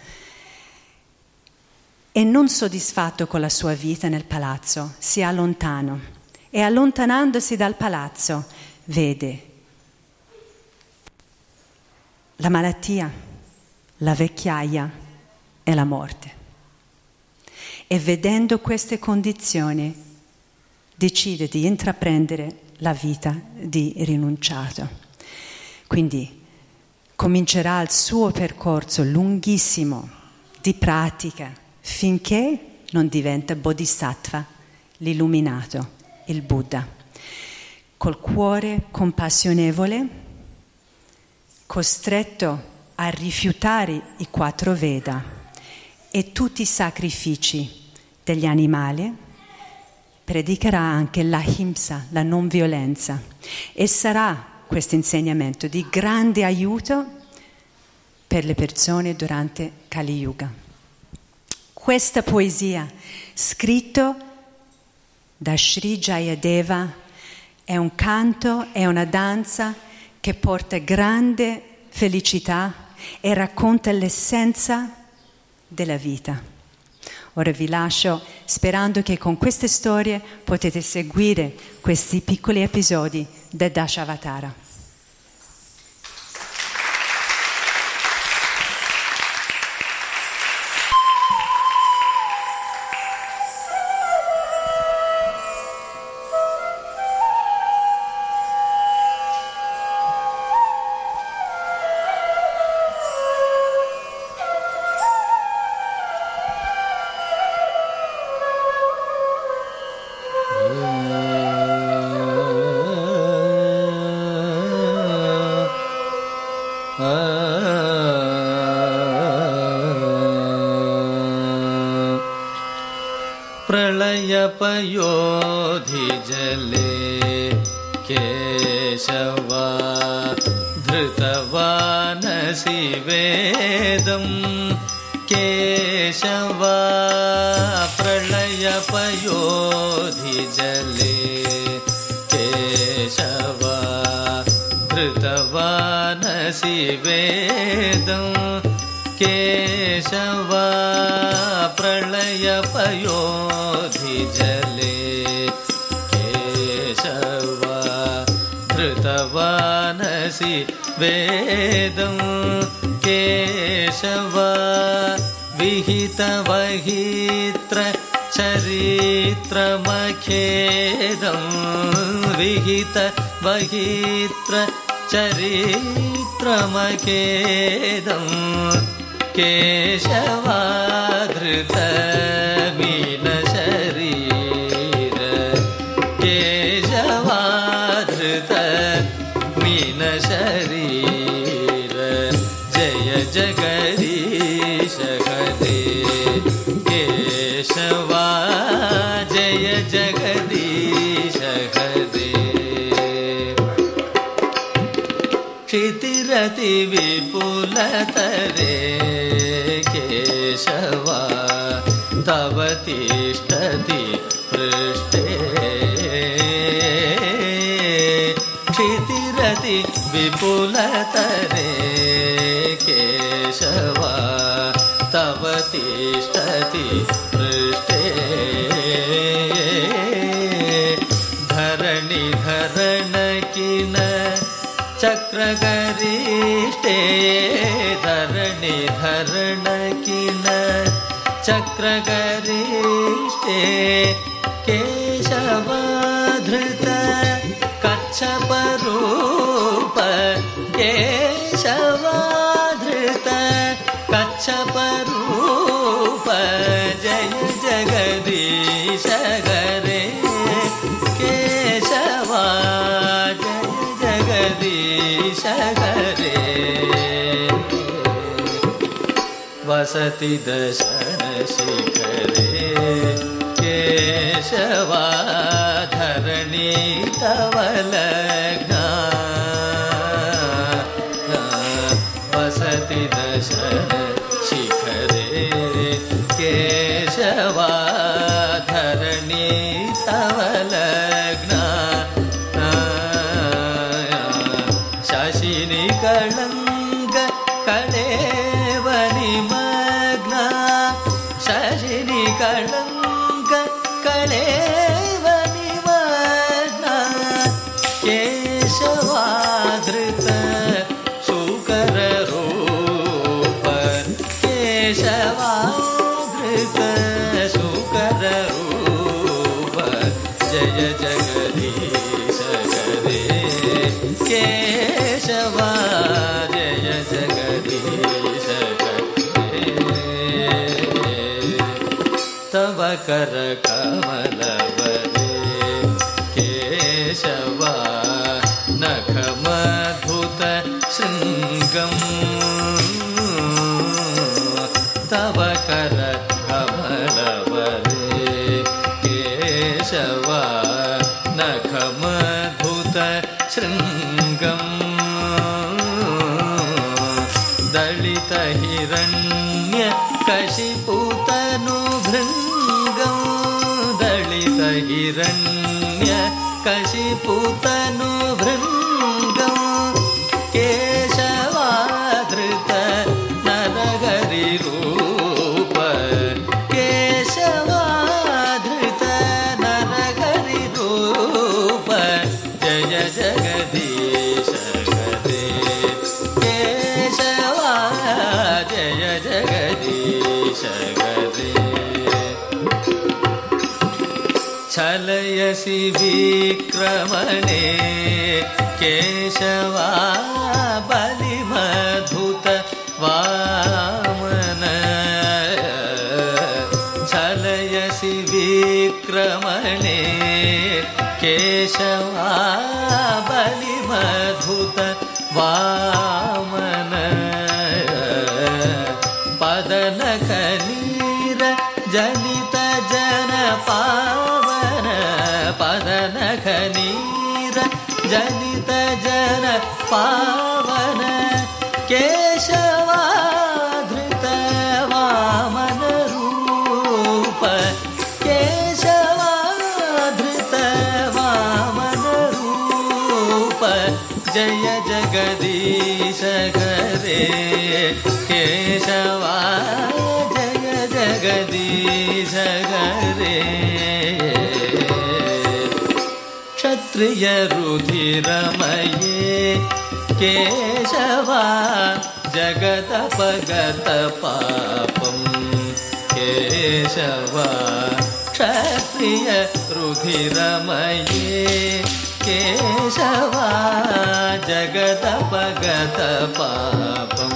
e non soddisfatto con la sua vita nel palazzo si allontana e allontanandosi dal palazzo vede la malattia, la vecchiaia e la morte. E vedendo queste condizioni decide di intraprendere la vita di rinunciato. Quindi comincerà il suo percorso lunghissimo di pratica finché non diventa Bodhisattva, l'illuminato, il Buddha. Col cuore compassionevole, costretto a rifiutare i 4 Veda e tutti i sacrifici degli animali, predicherà anche l'ahimsa, la non violenza, e sarà questo insegnamento di grande aiuto per le persone durante Kali Yuga. Questa poesia, scritta da Sri Jayadeva, è un canto, è una danza che porta grande felicità e racconta l'essenza della vita. Ora vi lascio sperando che con queste storie potete seguire questi piccoli episodi del Dashavatara. प्रलयपयोधिजले केशवा धृतवानसि वेदं केशवा प्रलयपयोधिजले केशवा धृतवानसि वेदं केशवा प्रलयपयोधिजले केशवा धृतवानसि वेदं केशवा विहितवहित्र चरित्रमखेदं विहितवहित्र चरित्रमखेदं केशवा धृतमीनशरीर केशवा धृतमीनशरीर जय जगदीश हरे केशवा जय जगदीश हरे क्षितिरति विपुलतरे केशवा तव तिष्ठति पृष्ठे क्षितिरति विपुलतरे केशवा तव तिष्ठति पृष्ठे धरणि धरणकिन चक्रगरिष्ठे धरणि धरणकिन चक्रगरिष्ठे केशवा धृत कच्छपरूप केशवा धृत कच्छपरूप जय जगदीश हरे केशवा जय जगदीश हरे वसति दशनशिखरे केशवा धरणी तव लग्ना वसति दशनशिखरे केशवा धरणी तव लग्ना शशिनि कलंक कलेव निमग्ना शशिनि कलंक कलेव निमग्ना केशवाधृत शुकर रूप केशवाधृत शुकर रूप जय जगदीश करे केशवा जय जगदीश करे तव कर कमलवरे केशवा नखमद्भुत शृङ्गम् तव कर कमलवरे केशवा नखमद्भुत शृङ्गम् दलित हिरण्य कशिपुतनुभृङ्गम् दलित हिरण्य कशिपुतनुभृङ्गम् केशवाधृत नरहरिरूप केशवाधृत नरहरिरूप जय जगदीश करे केशवा जय जगदीश करे छलयसि विक्रमणे केशवा बलिमधुत वामन छलयसि विक्रमणे केशवा बलिमधुत वामन पदनखनीर जनित जन पावन पदनखनीर जनित जन पावन केशवाधृत वामन रूप केशवाधृत वामन रूप जय जगदीश करे केशवा जय जगदीश करे क्षत्रिय रुधिरमये केशवा जगदपगत पापं केशवा क्षत्रिय रुधिरमये केशवा जगदपगत पापं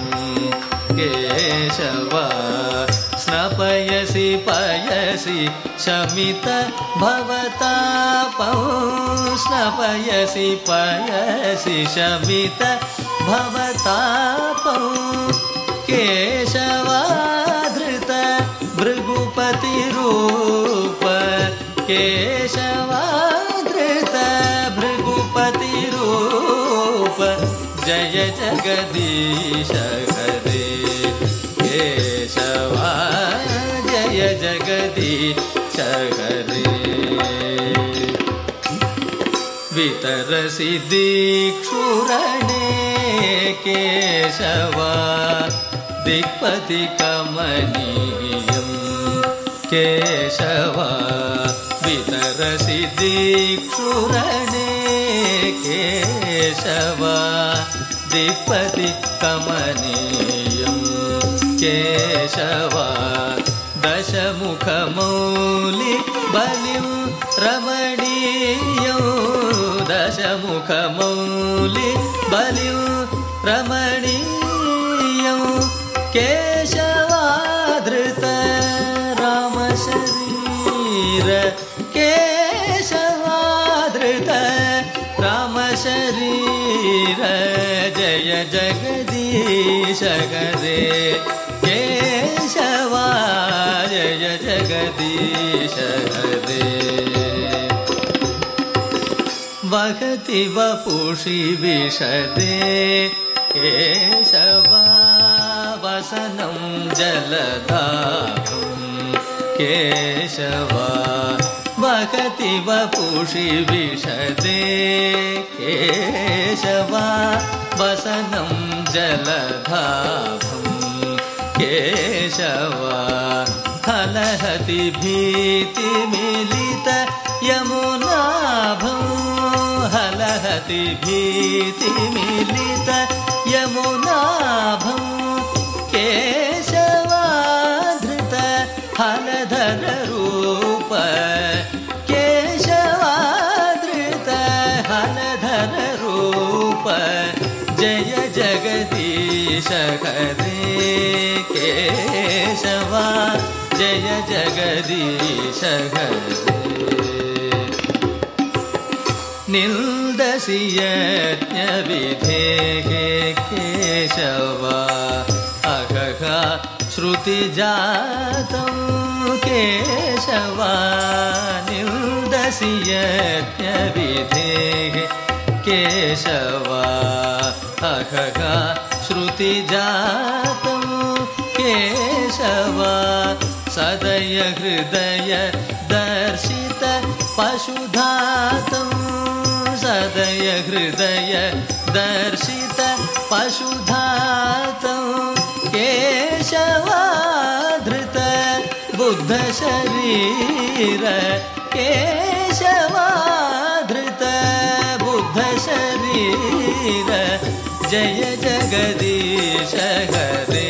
केशवा स्नपयसि पयसि शमित भवतापं स्नपयसि पयसि शमित भवतापं केशवाधृत भृगुपतिरूप केशवाधृत भृगुपतिरूप जय जगदीश करे केशवा जय जगदीश करे वितरसि दीक्षुरणे केशवा दिक्पति कमनीयम् केशवा वितरसि दीक्षुरणे केशवा दिक्पति कमनीयम् केशवा दशमुखमौलि बलिं रमणीयं दशमुखमौलि बलिं रमणीयं केशवाधृत रामशरीर केशवाधृत रामशरीर जय जगदीश करे केशवा हरे वहति वपुषि विशदे केशवा वसनं जलदाभं केशवा वहति वपुषि विशदे केशवा वसनं जलदाभं केशवा हलहति भीतिमिलित यमुनाभं हलहति भीतिमिलित यमुनाभं केशवाधृत हलधर रूप केशवाधृत हलधर रूप जय जगदीश हरे केशवा जय जगदीश हरे निन्दसि यज्ञविधेः केशवा अहः श्रुतिजातं केशवा निन्दसि यज्ञविधेः केशवा अहः श्रुतिजातं केशवा सदय हृदय दर्शित पशुधातं सदय हृदय दर्शित पशुधातं केशवाधृत बुद्ध शरीर केशवाधृत बुद्ध शरीर जय जगदीश हरे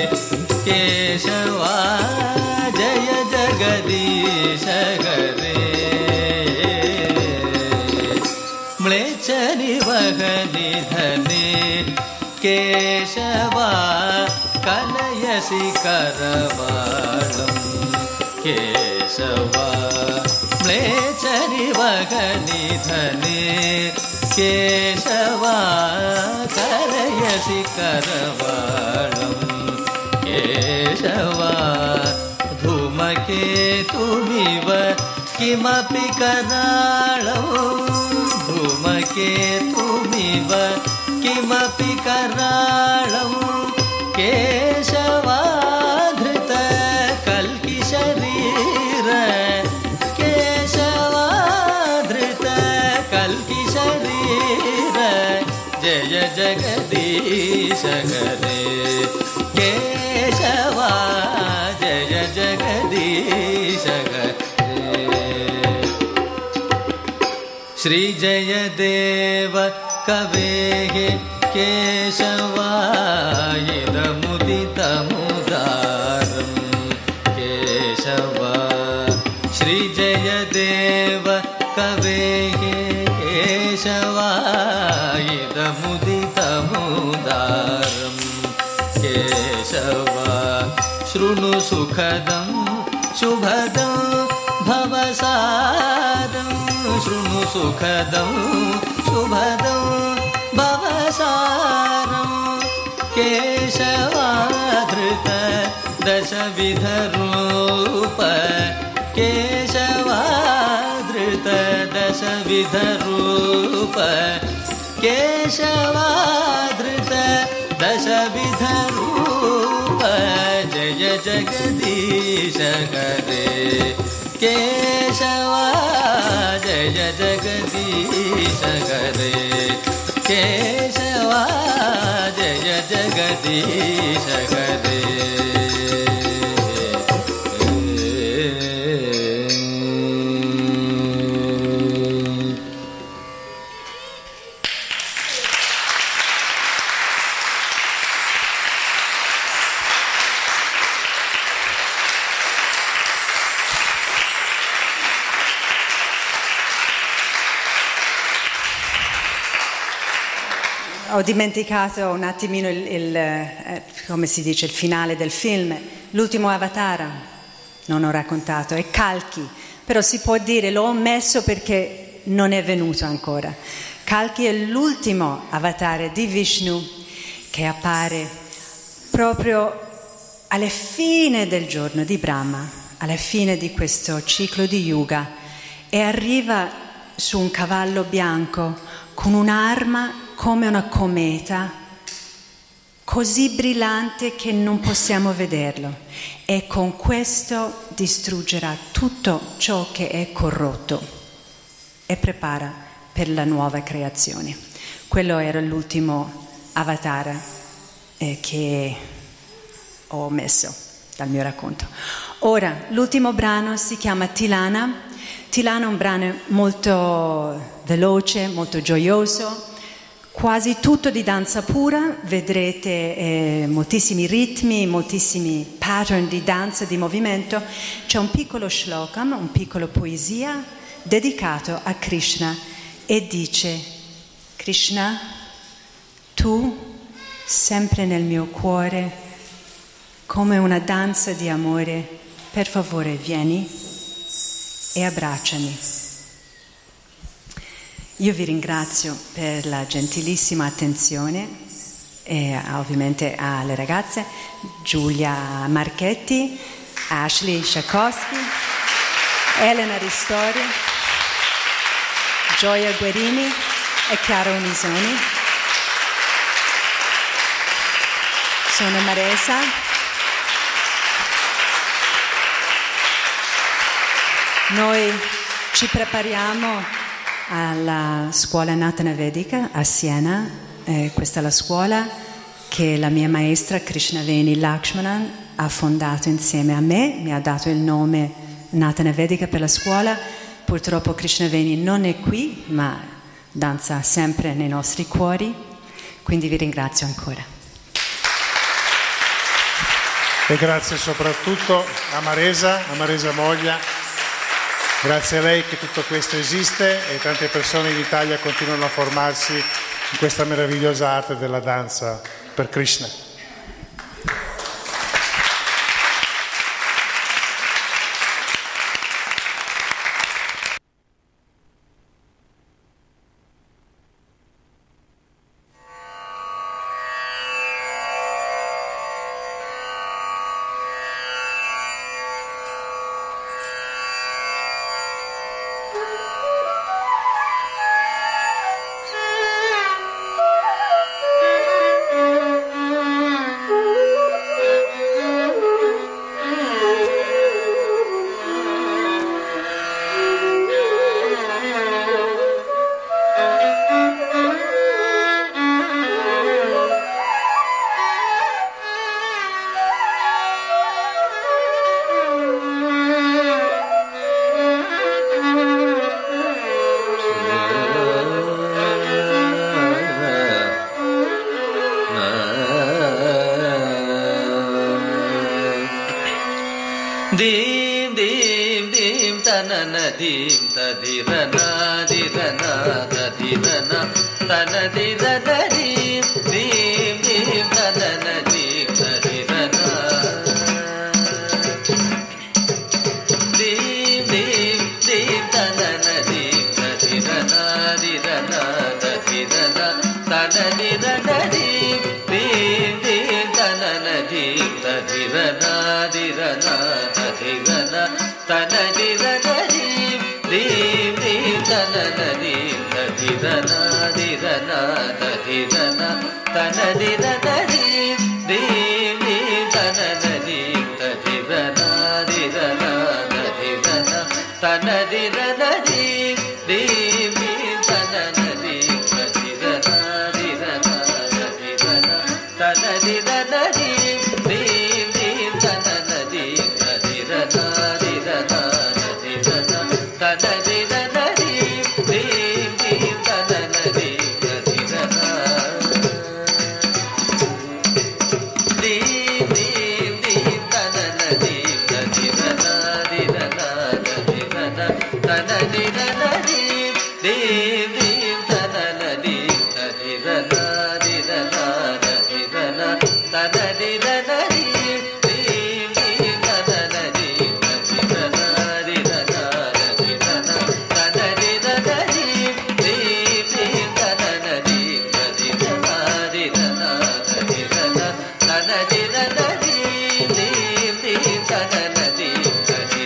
केशवा जय जगदीश हरे म्लेच्छ निवहनिधने केशवा कलयसि करवाणं केशवा म्लेच्छ निवहनिधने केशवा कलयसि करवाणं केशवा धूमकेतुमिव किमपि कराळं धूमकेतुमिव किमपि कराळं केशवाधृत कल्किशरीर केशवाधृत कल्किशरीर जय जगदीश हरे केशवा जय जगदीश हरे श्री जयदेव कवेः केशवा इदमुदितमुदारं केशवा श्री जयदेव कवेः केशवा इदमुदितमुदारं केशवा शृणु सुखदं शुभदं भवसारं शृणु सुखदं शुभदं भवसारं केशवाधृत दशविधरूप केशवाधृत दशविधरूप केशवाधृत दशविधरूप जय जगदीश हरे केशवा जय जगदीश हरे केशवा जय जगदीश हरे Ho dimenticato un attimino come si dice, il finale del film. L'ultimo Avatara non ho raccontato, è Kalki, però si può dire, l'ho omesso perché non è venuto ancora. Kalki è l'ultimo Avatara di Vishnu che appare proprio alla fine del giorno di Brahma, alla fine di questo ciclo di yuga e arriva su un cavallo bianco con un'arma come una cometa, così brillante che non possiamo vederlo, e con questo distruggerà tutto ciò che è corrotto e prepara per la nuova creazione. Quello era l'ultimo avatar che ho messo dal mio racconto. Ora, l'ultimo brano si chiama Tilana. Tilana è un brano molto veloce, molto gioioso, quasi tutto di danza pura. Vedrete moltissimi ritmi, moltissimi pattern di danza, di movimento. C'è un piccolo shlokam, un piccolo poesia dedicato a Krishna e dice: Krishna, tu sempre nel mio cuore, come una danza di amore, per favore vieni e abbracciami. Io vi ringrazio per la gentilissima attenzione e ovviamente alle ragazze Giulia Marchetti, Ashley Shakowski, Elena Ristori, Gioia Guerini e Chiara Unisoni. Sono Maresa. Noi ci prepariamo alla scuola Natana Vedica a Siena. Questa è la scuola che la mia maestra Krishnaveni Lakshmanan ha fondato insieme a me, mi ha dato il nome Natana Vedica per la scuola. Purtroppo Krishnaveni non è qui, ma danza sempre nei nostri cuori, quindi vi ringrazio ancora. E grazie soprattutto a Maresa Moglia. Grazie a lei che tutto questo esiste e tante persone in Italia continuano a formarsi in questa meravigliosa arte della danza per Krishna. Dim dim dim tanana dim tadirana dirana tadirana tanadirana dim dim dim tanana dim tadirana dim dim dim tanana dim tadirana dirana tadirana tanadirana dim dim dim tanana dim tadirana dirana tadirana tanadirana dim dim dim tanana dim tadirana dirana tadirana tanadirana dim dim dim tanana dim tadirana dirana tadirana tanadirana dim dim dim tanana dim tadirana dirana tadirana tanadirana dim dim dim tanana dim tadirana dirana tadirana tanadirana dim dim dim tanana dim tadirana dim dim dim tanana dim tadirana dirana tadirana tanadirana dim dim dim tanana dim tadirana dirana tadirana tanadirana dim dim dim tanana dim tadirana dirana tadirana tanadirana dim dim dim tanana dim tadirana dirana tadirana tanadirana dim dim dim tanana dim tadirana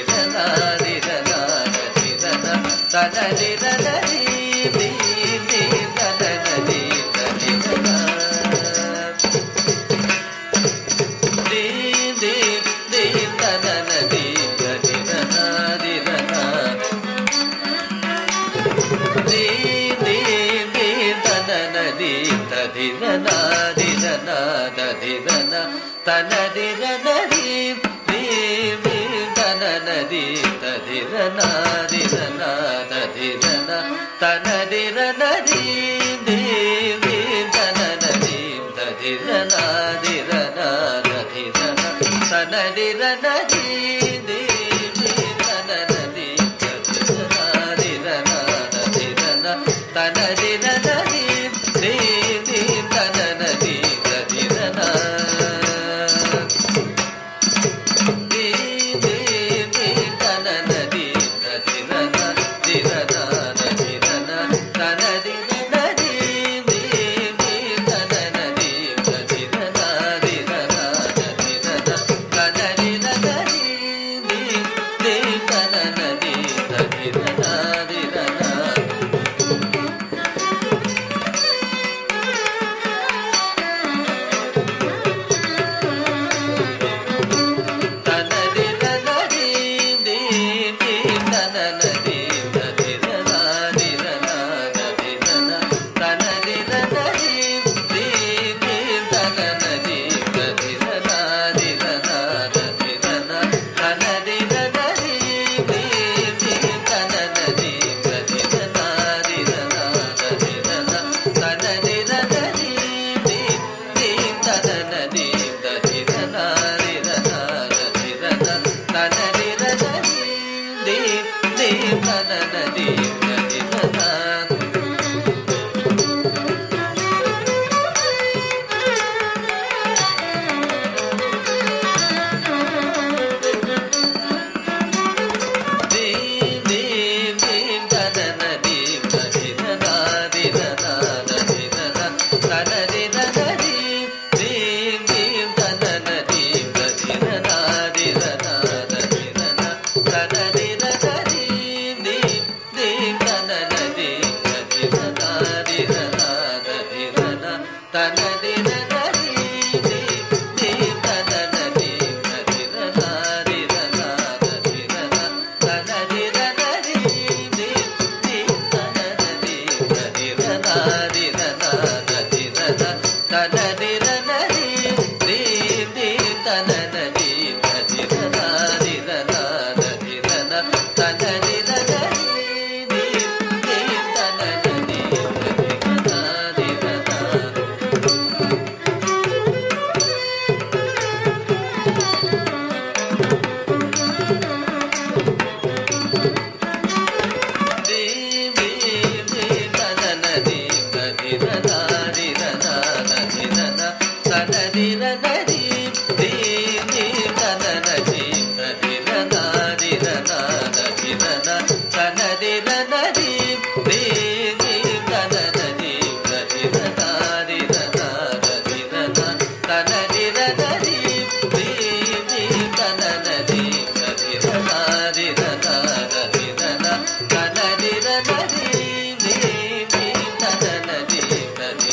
Thank you.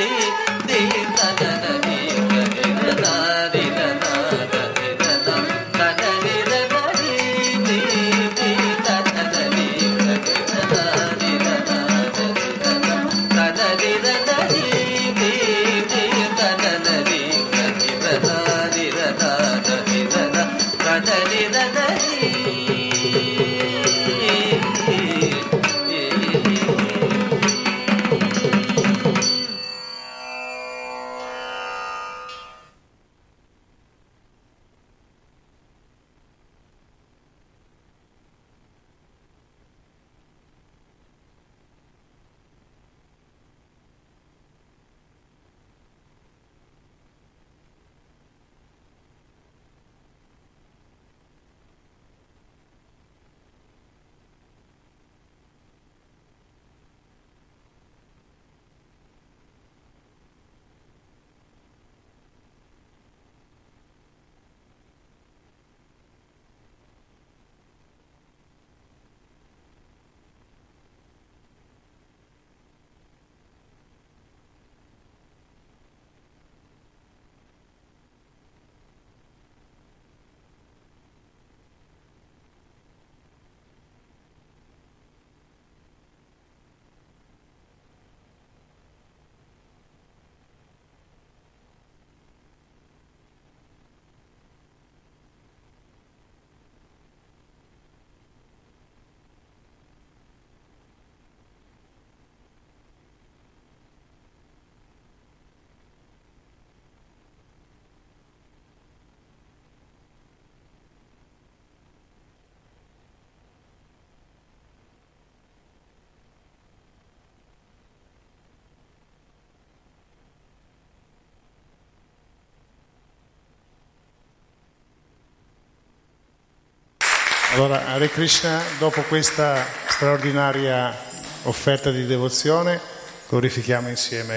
Allora, Hare Krishna, dopo questa straordinaria offerta di devozione, glorifichiamo insieme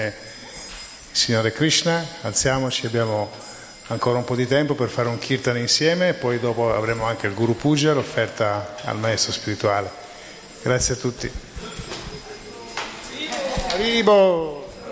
il Signore Krishna, alziamoci, abbiamo ancora un po' di tempo per fare un kirtan insieme e poi dopo avremo anche il Guru Puja, l'offerta al maestro spirituale. Grazie a tutti. Haribo!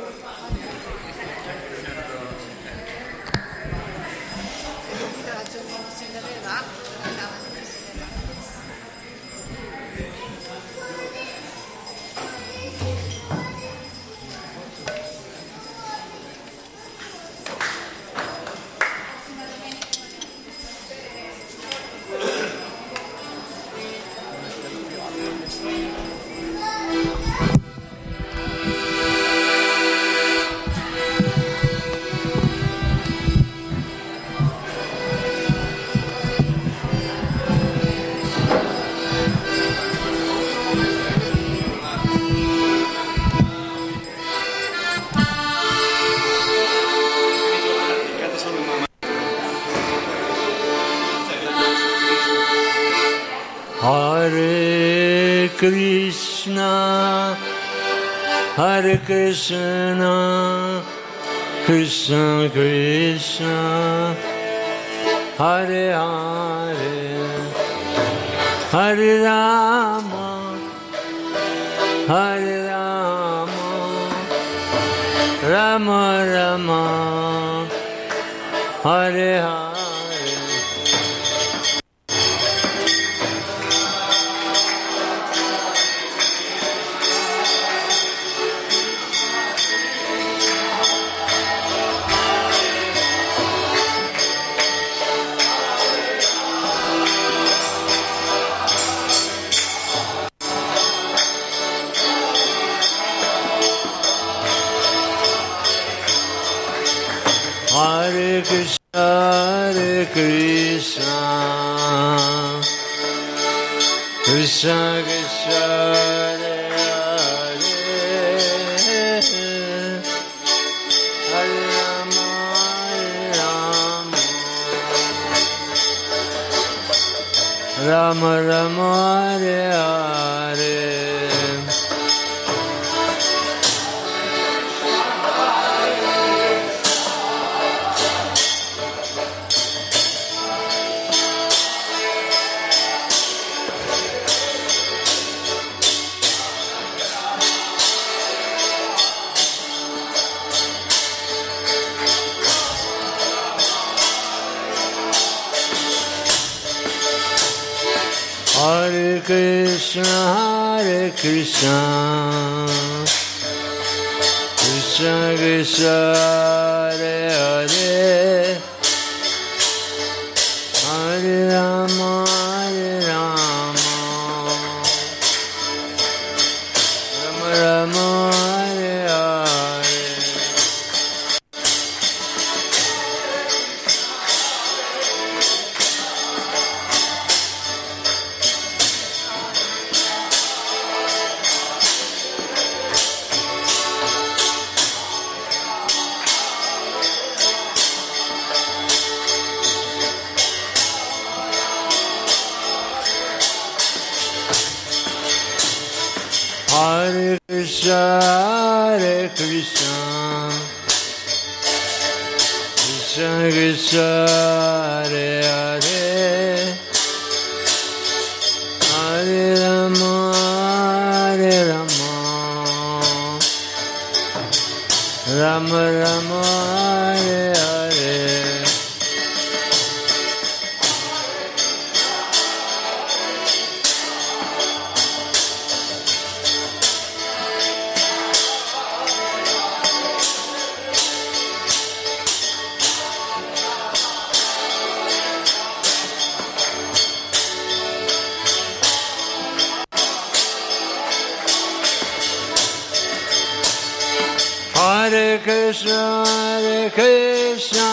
Hare Krishna, Hare Krishna, Krishna Krishna, Hare Hare, Hare Rama, Hare Rama, Rama Rama, Hare Hare. Hare Krishna, Hare Krishna, Krishna Krishna, Hare Hare, Hare Rama, Hare Rama, Rama Rama, Hare Hare. Hare Krishna, Krishna Krishna, Hare Hare, Hare Rama, Rama Rama, Hare Hare. Hare Krishna, Krishna Krishna, Hare Hare, Hare Rama, Rama Rama, Hare Hare. Hare Krishna, Krishna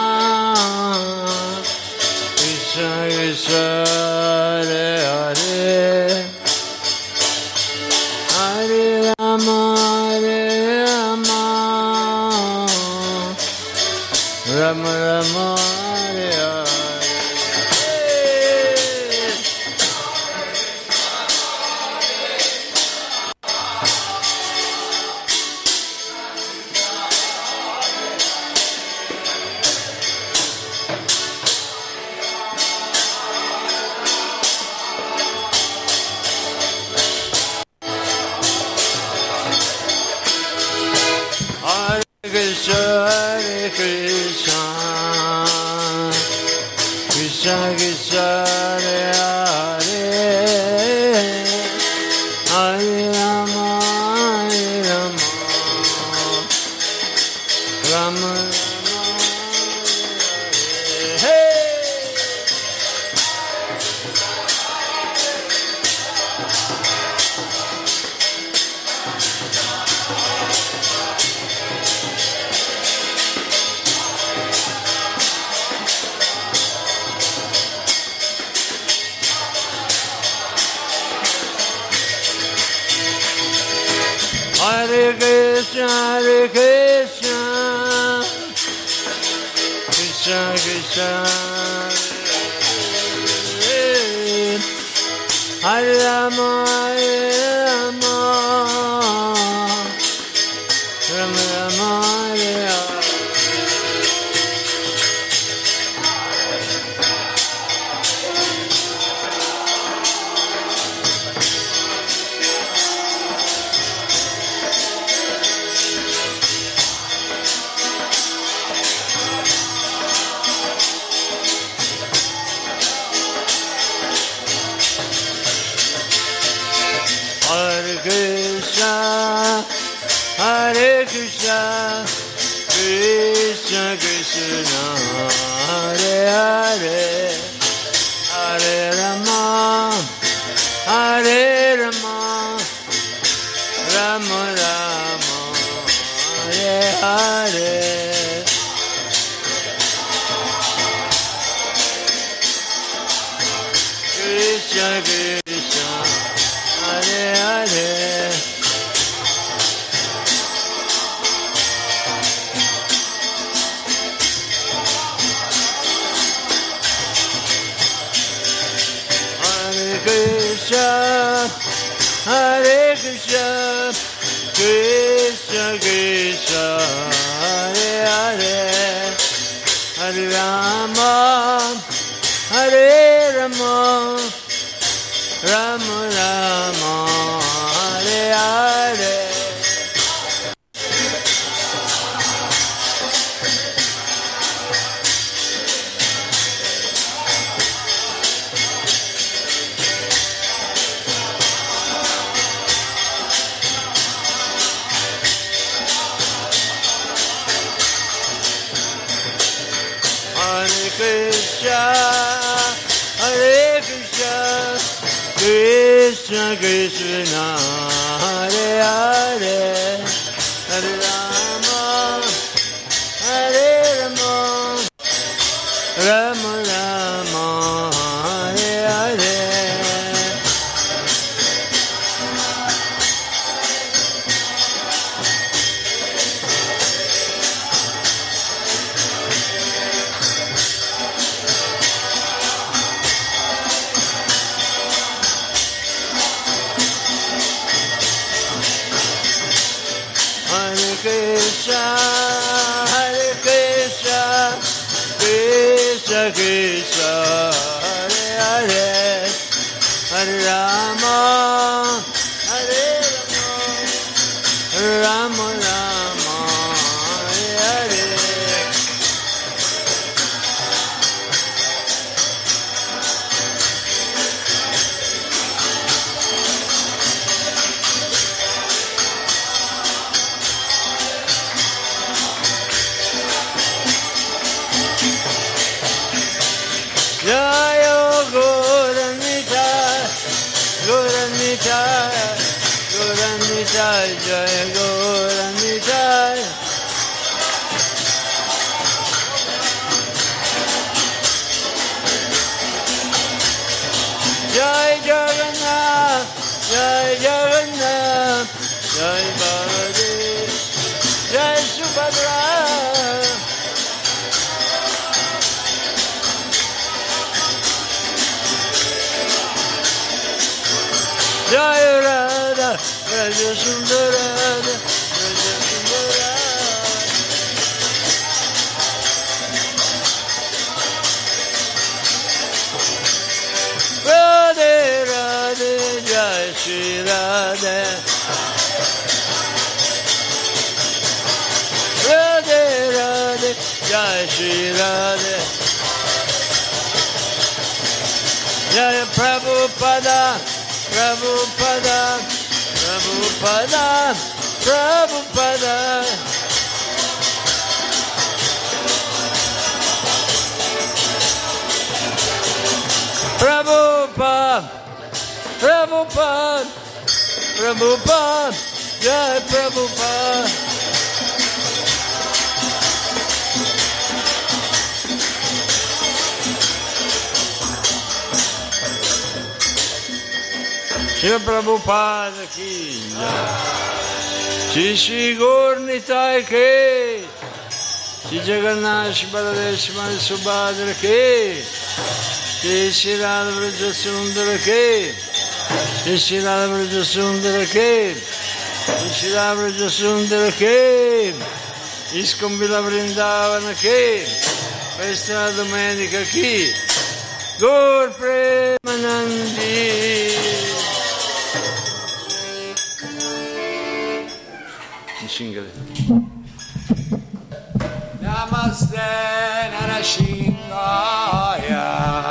Krishna, Hare Hare, Hare Rama, Rama Rama, Hare Hare. Krishna, Krishna Krishna, Hare Hare, Hare Rama, Rama Rama, Hare Hare. Hare Krishna, Krishna Krishna, Hare Rama, Rama Rama, Hare Hare. Hare Krishna, Krishna Krishna, Hare Hare, Hare Rama, Rama Rama, Hare Hare. Krishna Krishna, Hare Hare. Hare Krishna, Krishna Krishna, Hare Hare, Hare Rama, Rama Rama, Hare Hare. Krishna, Hare Krishna, Krishna Krishna, Hare Hare, Hare Rama, Hare Rama, Rama Rama, Hare Hare. Krishna, Hare Krishna, Krishna Krishna, Hare Hare, Hare Rama, Hare Rama, Rama Rama, Hare Hare. Jaya Goranita, Goranita, Goranita, Jaya Goranita. Jai Jagannath, Jai Jagannath, Jai Baladev, Jai Subhadra. Jaya Radha, Raja Sundara, Raja Sundara. Radhe Radhe, Jai Shri Radhe. Radhe Radhe, Jai Shri Radhe. Jaya Prabhupada, Prabhupada, Prabhupada, Prabhupada. Prabhupada, Prabhupada, Prabhupada, Jai Prabhupada. Shri Prabhupada ki Shri Shri Gaur Nitai ke Shri Jagannath Shri Baladev Shri Subhadra ke Shri Shri Radha Vraja Sundara ke Shri Shri Radha Vraja Sundara ke Shri Shri Radha Vraja Sundara ke ISKCON Villa Vrindavana ke questa è la domenica chi Gaur Premanandi. Namaste Narashingaya.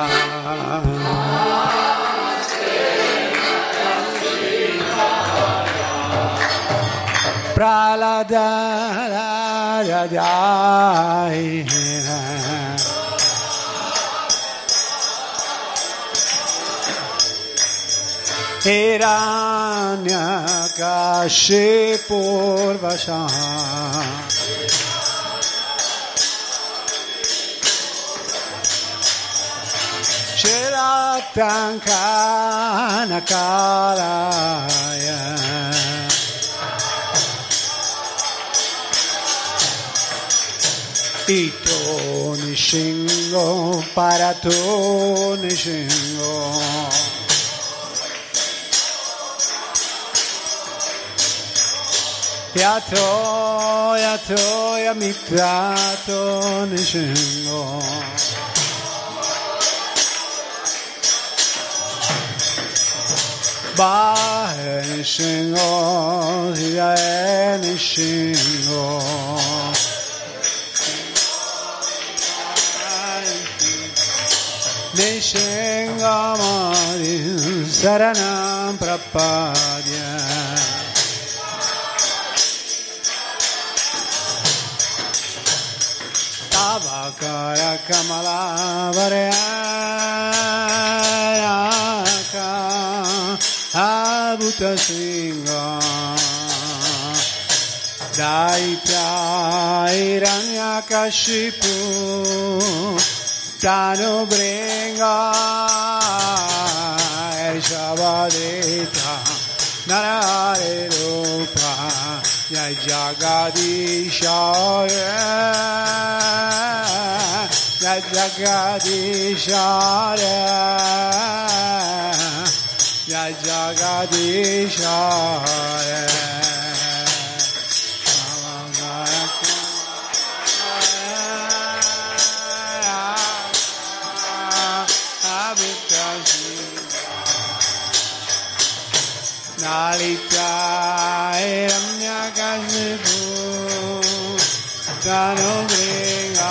Namaste Narashingaya. Praladaya. Hiranyakashipurvasha Shiratankanakaraya Ito nishingo parato nishingo Yato, yato, yamitrato nishingo Bahe nishingo, ziyae nishingo Nishingo mari saranam prapadya Tavakara Kamala Varayaka Abhuta Singha Daitya Hiranyakashipu Tanu Bringa Shavadita Narare Rupa Jai Jagadishaya Jai Jagadishaya Jai Jagadishaya Nalita Ramyakashipu Tanu Bringa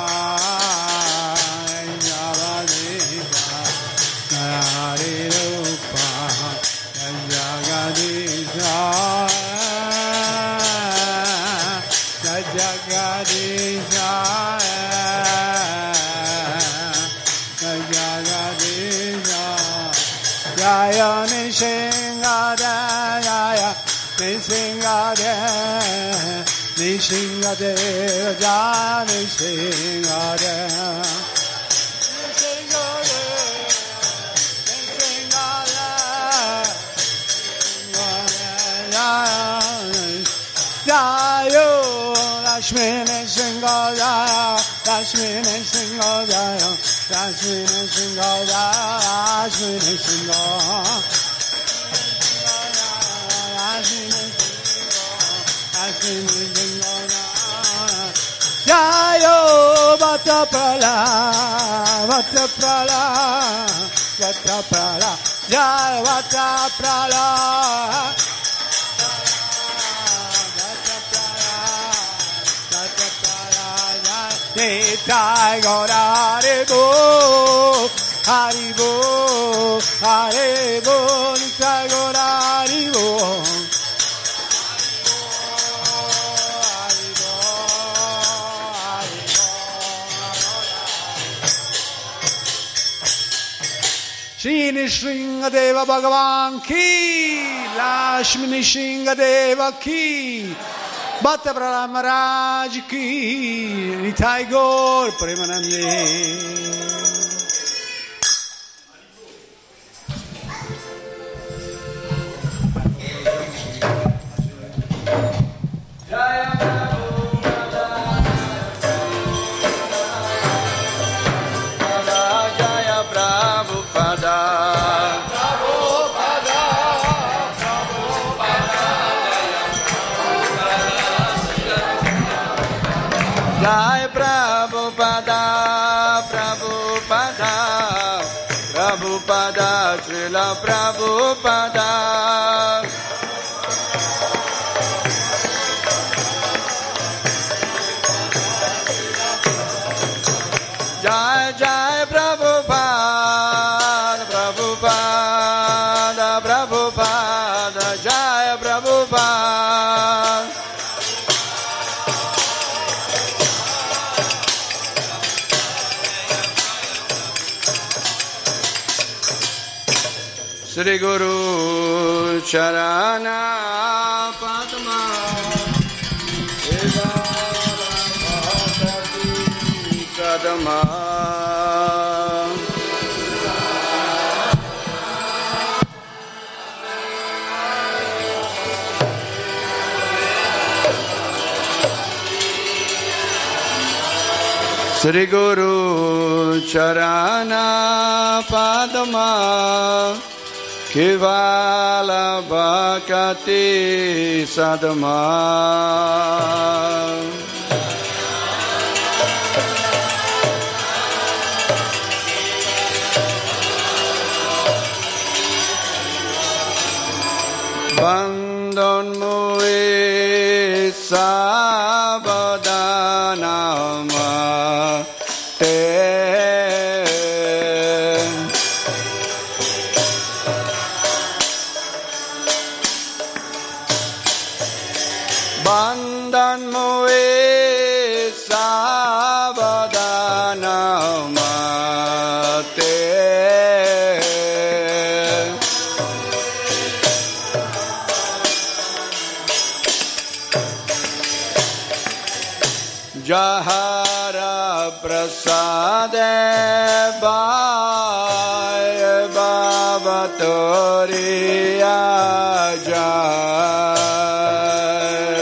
Javadita Narari Rupa Jagadisha Jagadisha Jagadisha Jaya Nishingadaya Nishingadaya Nishingadaya Jaya Nishingadaya Jayo Lakshmi Nishingadaya Lakshmi Nishingadaya Lakshmi Nishingadaya Lakshmi Nishingadaya Jayo Vataprala Vataprala Vataprala Jai Vataprala Vataprala Nitai Gaura Haribo Haribo Haribo Nitai Gaura Haribo Shri Nisringadeva Bhagavan Ki, Lakshmi Nisringadeva Ki, Bhatta Prahlad Maharaj Ki, Nitai Gaur Premanande. Jai Prabhupada, Prabhupada, Prabhupada, Srila Prabhupada. Jai Jai Prabhupada, Prabhupada, Prabhupada, Jai Prabhupada. Sri Guru Charana Padma Kadma Sri Guru Charana Padma Kevala Bhakati Sadma Bandhan Mue Sabadhanama Te Bandhan Mue Sabadhanama Jahara Prasade Bhaya Bhavatoriya Jai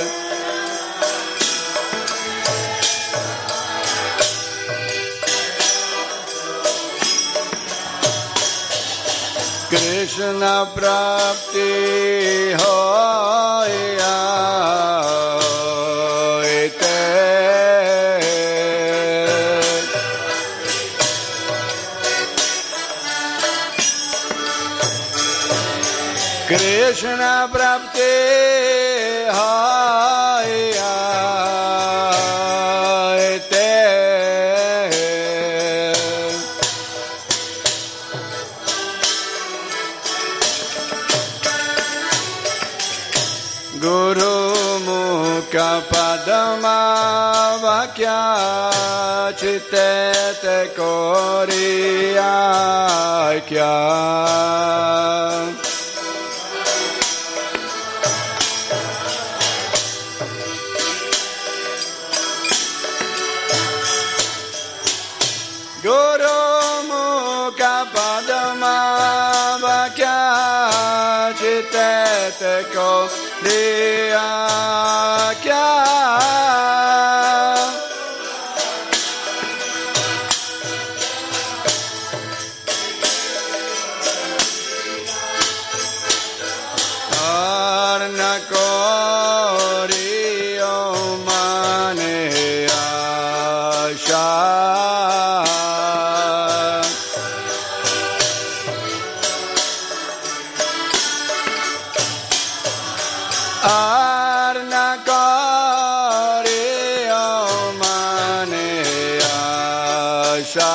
Krishna Prapti Hoya Krishna Prapti Haya Te Guru Mukha Padama Vakya Chitte Koriya Kya Guru Mukha Padama Vakya Chitte Koriya Kya Arna Koriyo Mane Asha Arna Koriyo Mane Asha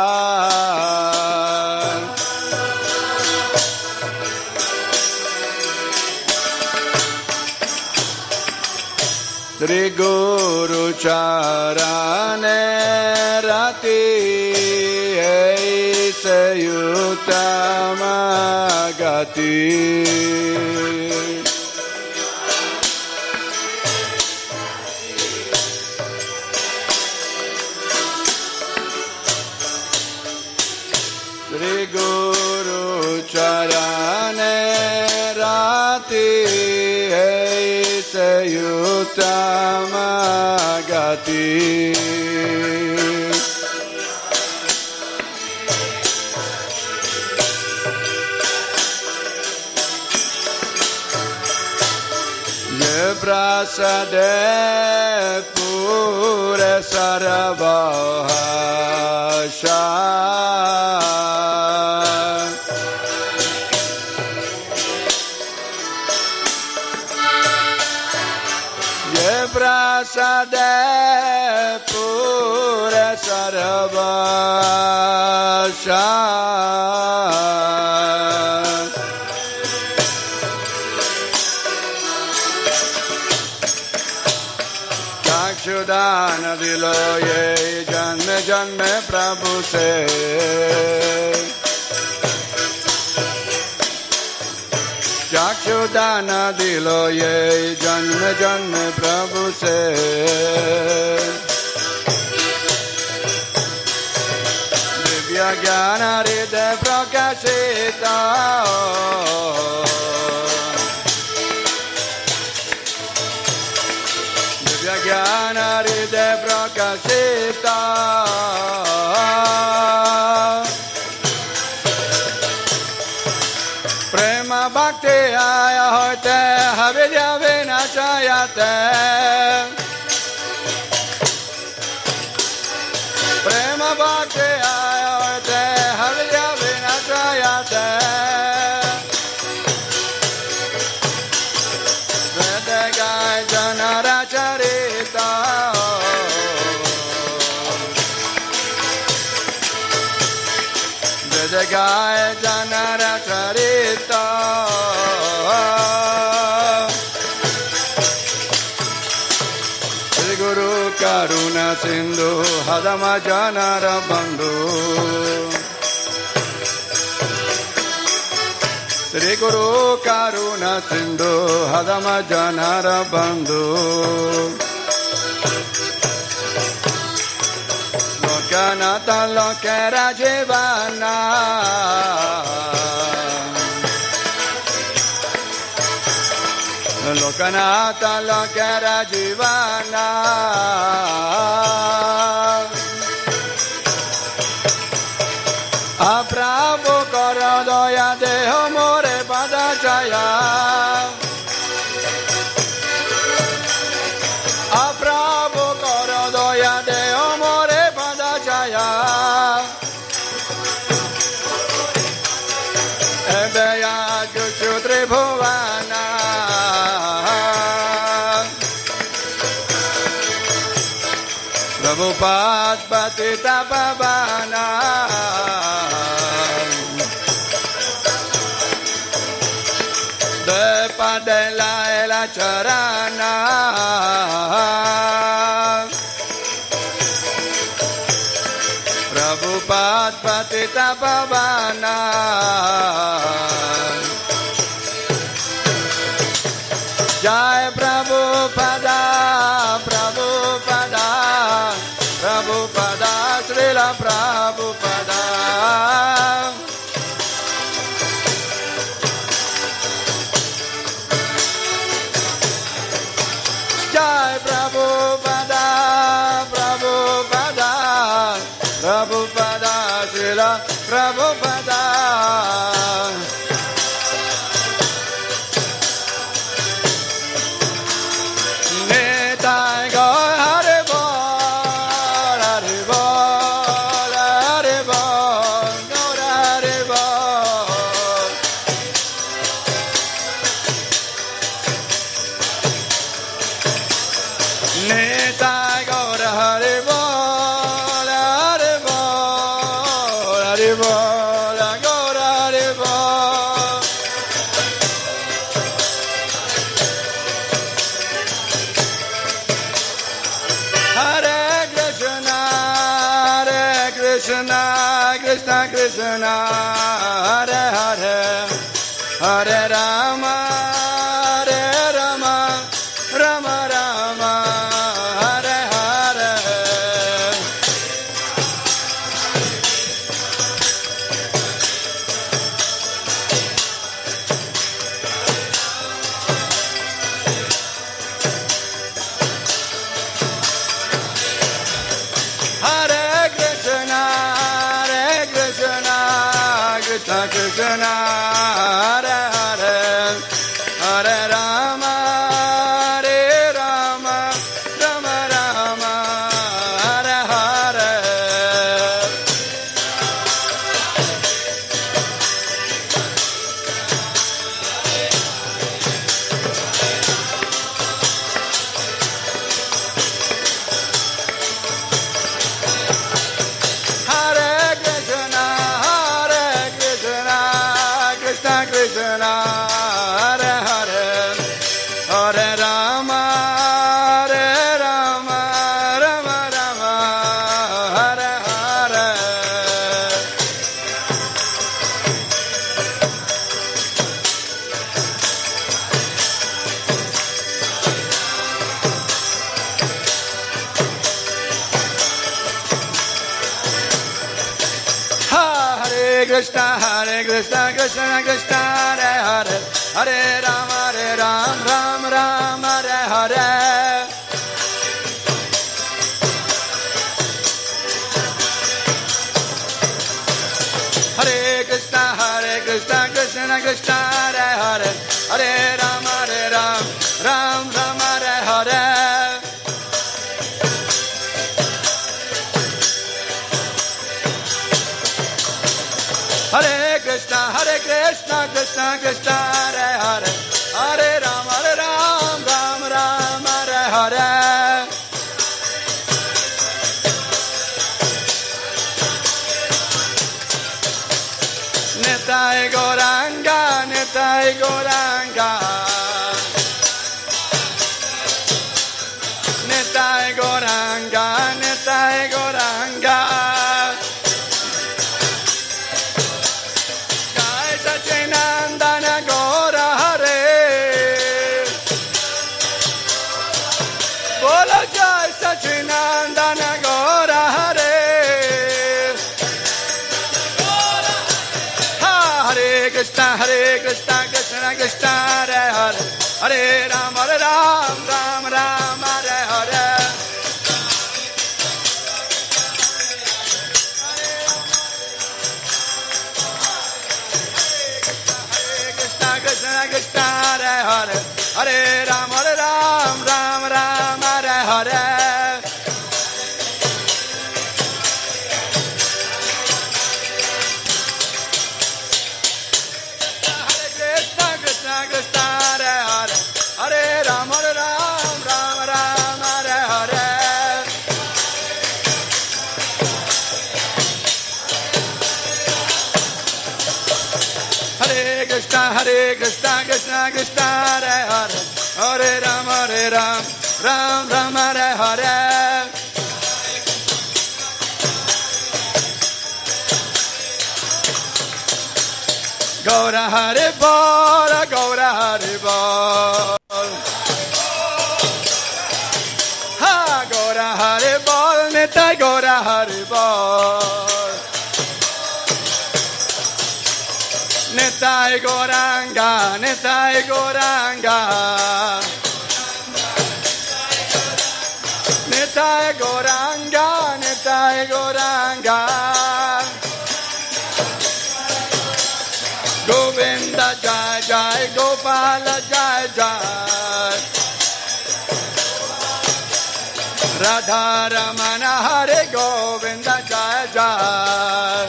Sri Guru Charane Rati Eise Yutama Gati Sri Guru Charane Rati Eise Yutama Gati Ye Prasade Pure Sarabhasha Prasade Pure Sarabhasha Chakshudana Diloye Janme Janme Prabhu Se Chakshudana Diloye Janme Janme Prabhu Se Divya Jnana Hridaya Prakashita Divya Jnana Hridaya Prakashita Prema Bhakti Aya Hoite Havidya Vinachayate Prema Bhakti Aya Hoite Havidya Vinachayate Vedagai Janara Charita Vedagai Janara Charita Sri Guru Karuna Sindhu Hadama Janara Bandhu Sri Guru Karuna Sindhu Hadama Janara Bandhu Lokanatha Lokera Jivana Lokanatha Lokera Jivana Apravu Karadoya Deho More Padachaya Apravu Karadoya Deho More Padachaya Ebeya Juchu Tribhuvana Prabhupada Patita Pavana De Padela Ela Charana Prabhupada Patita Pavana Jai Prabhupada Prabhupada Prabhupada Srila Prabhupada Jai Prabhupada Prabhupada Prabhupada Srila Prabhupada Nitai Gaur Hare Bol Hare Bol Hare Bol Gaur Hare Bol Nitai Gaur Hare Bol Hare Bol Hare Bol Gaur Hare Bol Hare Krishna Krishna Krishna Hare Hare Hare Rama Hare Rama Rama Rama Hare Hare Hare Krishna Krishna Krishna Hare Hare Hare Rama Hare Rama Rama Rama Hare Hare Hare Krishna Krishna Krishna Hare Hare Hare Rama Hare Rama Rama Rama Hare Hare Hare Krishna Krishna Krishna Hare Hare Hare Ram Ram Ram Hare Hare Hare Krishna Krishna Krishna Hare Hare Hare Ram Ram Ram Hare Hare Hare Krishna Krishna Krishna Hare Hare Hare Ram Ram Ram Hare Hare Nitai Gauranga Nitai Gauranga Nitai Gauranga Nitai Gauranga Nandana Gaura Hare Bolo Jai Sachinandana Gaura Hare Krishna Hare Hare Hare Ram Ram Ram Hare Hare Krishna Krishna Hare Hare Hare Ram Ram Ram Hare Hare Krishna Krishna Hare Hare Hare Ram Ram Ram Hare Hare Hare Krishna Krishna Krishna Hare Hare Hare Ram Ram Ram Hare Hare Gaura Hare Bol Gaura Hare Bol Ha Gaura Hare Bol Nitai Gaura Hare Bol Nitai Gauranga Nitai Gauranga Nitai Gauranga Nitai Gauranga Govinda Jai Jai Gopala Jai Jai Radha Ramana Hare Govinda Jai Jai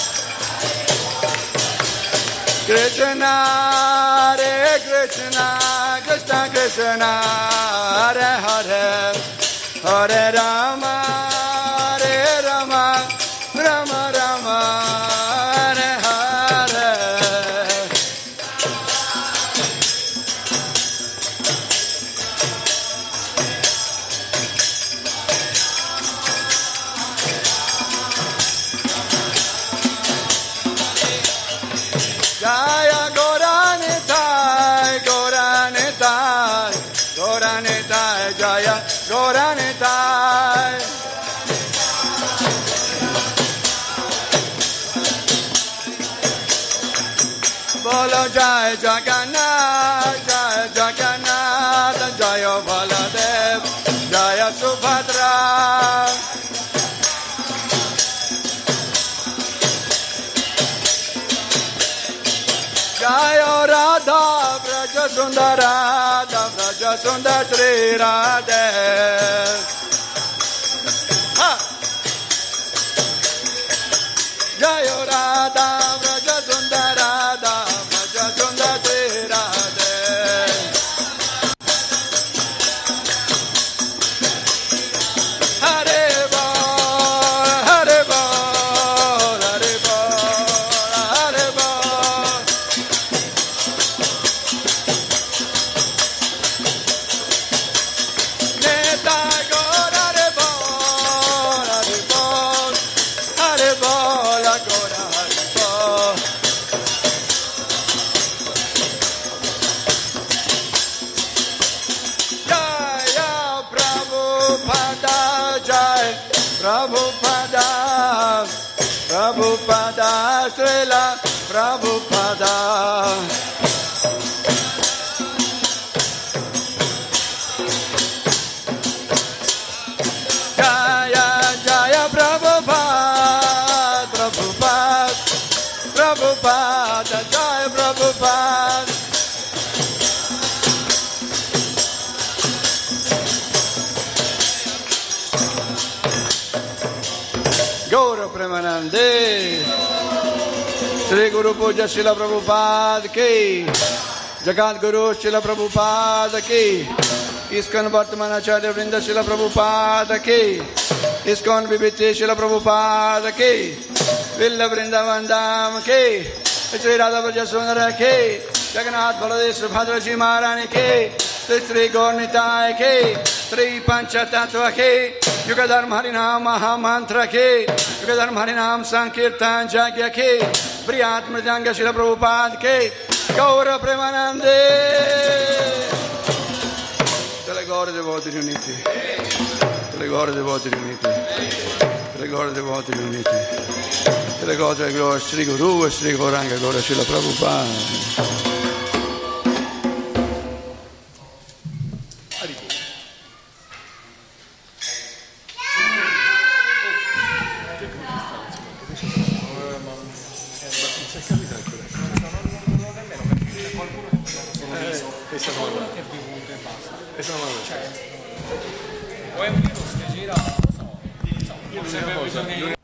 Krishna Hare Krishna Krishna Krishna Hare Hare Hare Rama Hare Rama Rama Rama Hare Hare Jaya Gauranitai Gauranitai Gauranitai Jaya Gauranitai Bolo Jai Jagannath Jai Jagannath Jaya Baladev Jaya Subhadra Jaya Radha Braja Sundara Braja Sundar Sri Radhe Jaya Radha Braja Sundara Braja Sundar Sri Radhe Hare Bol Hare Bol Hare Bol Hare Bol Nitai Gaur Hare Bol Hare Bol Hare Bol Gaur Hare Bol Jaya Prabhupada Jai Prabhupada Prabhupada Srila Prabhupada Jaya Jaya Prabhupada Prabhupada Prabhupada Jaya Prabhupada Gaura Premanande Sri Guru Puja Srila Prabhupada Ki Jagat Guru Srila Prabhupada Ki ISKCON Vartamana Acharya Vrinda Srila Prabhupada Ki ISKCON Vibhiti Srila Prabhupada Ki Villa Vrindavan Dham Ki Sri Radha Braja Sundara Ki Jagannath Baladev Subhadra Ji Maharani Ki Sri Gaur Nitai Ki Sri Pancha Tattva Ki Yugadharm Harinam Mahamantra Ki Yugadharm Harinam Sankirtan Jagya Ki Briyat Mridanga Srila Prabhupada Ki Gaura Premanande Tele Gaura Devoti riuniti Tele Gaura Devoti riuniti Tele Gaura Devoti riuniti Tele Gaura Sri Guru e Sri Gauranga Gaura Srila Prabhupada stato mandato. È stato mandato. O è un virus che gira, non lo so. Io sempre bisogno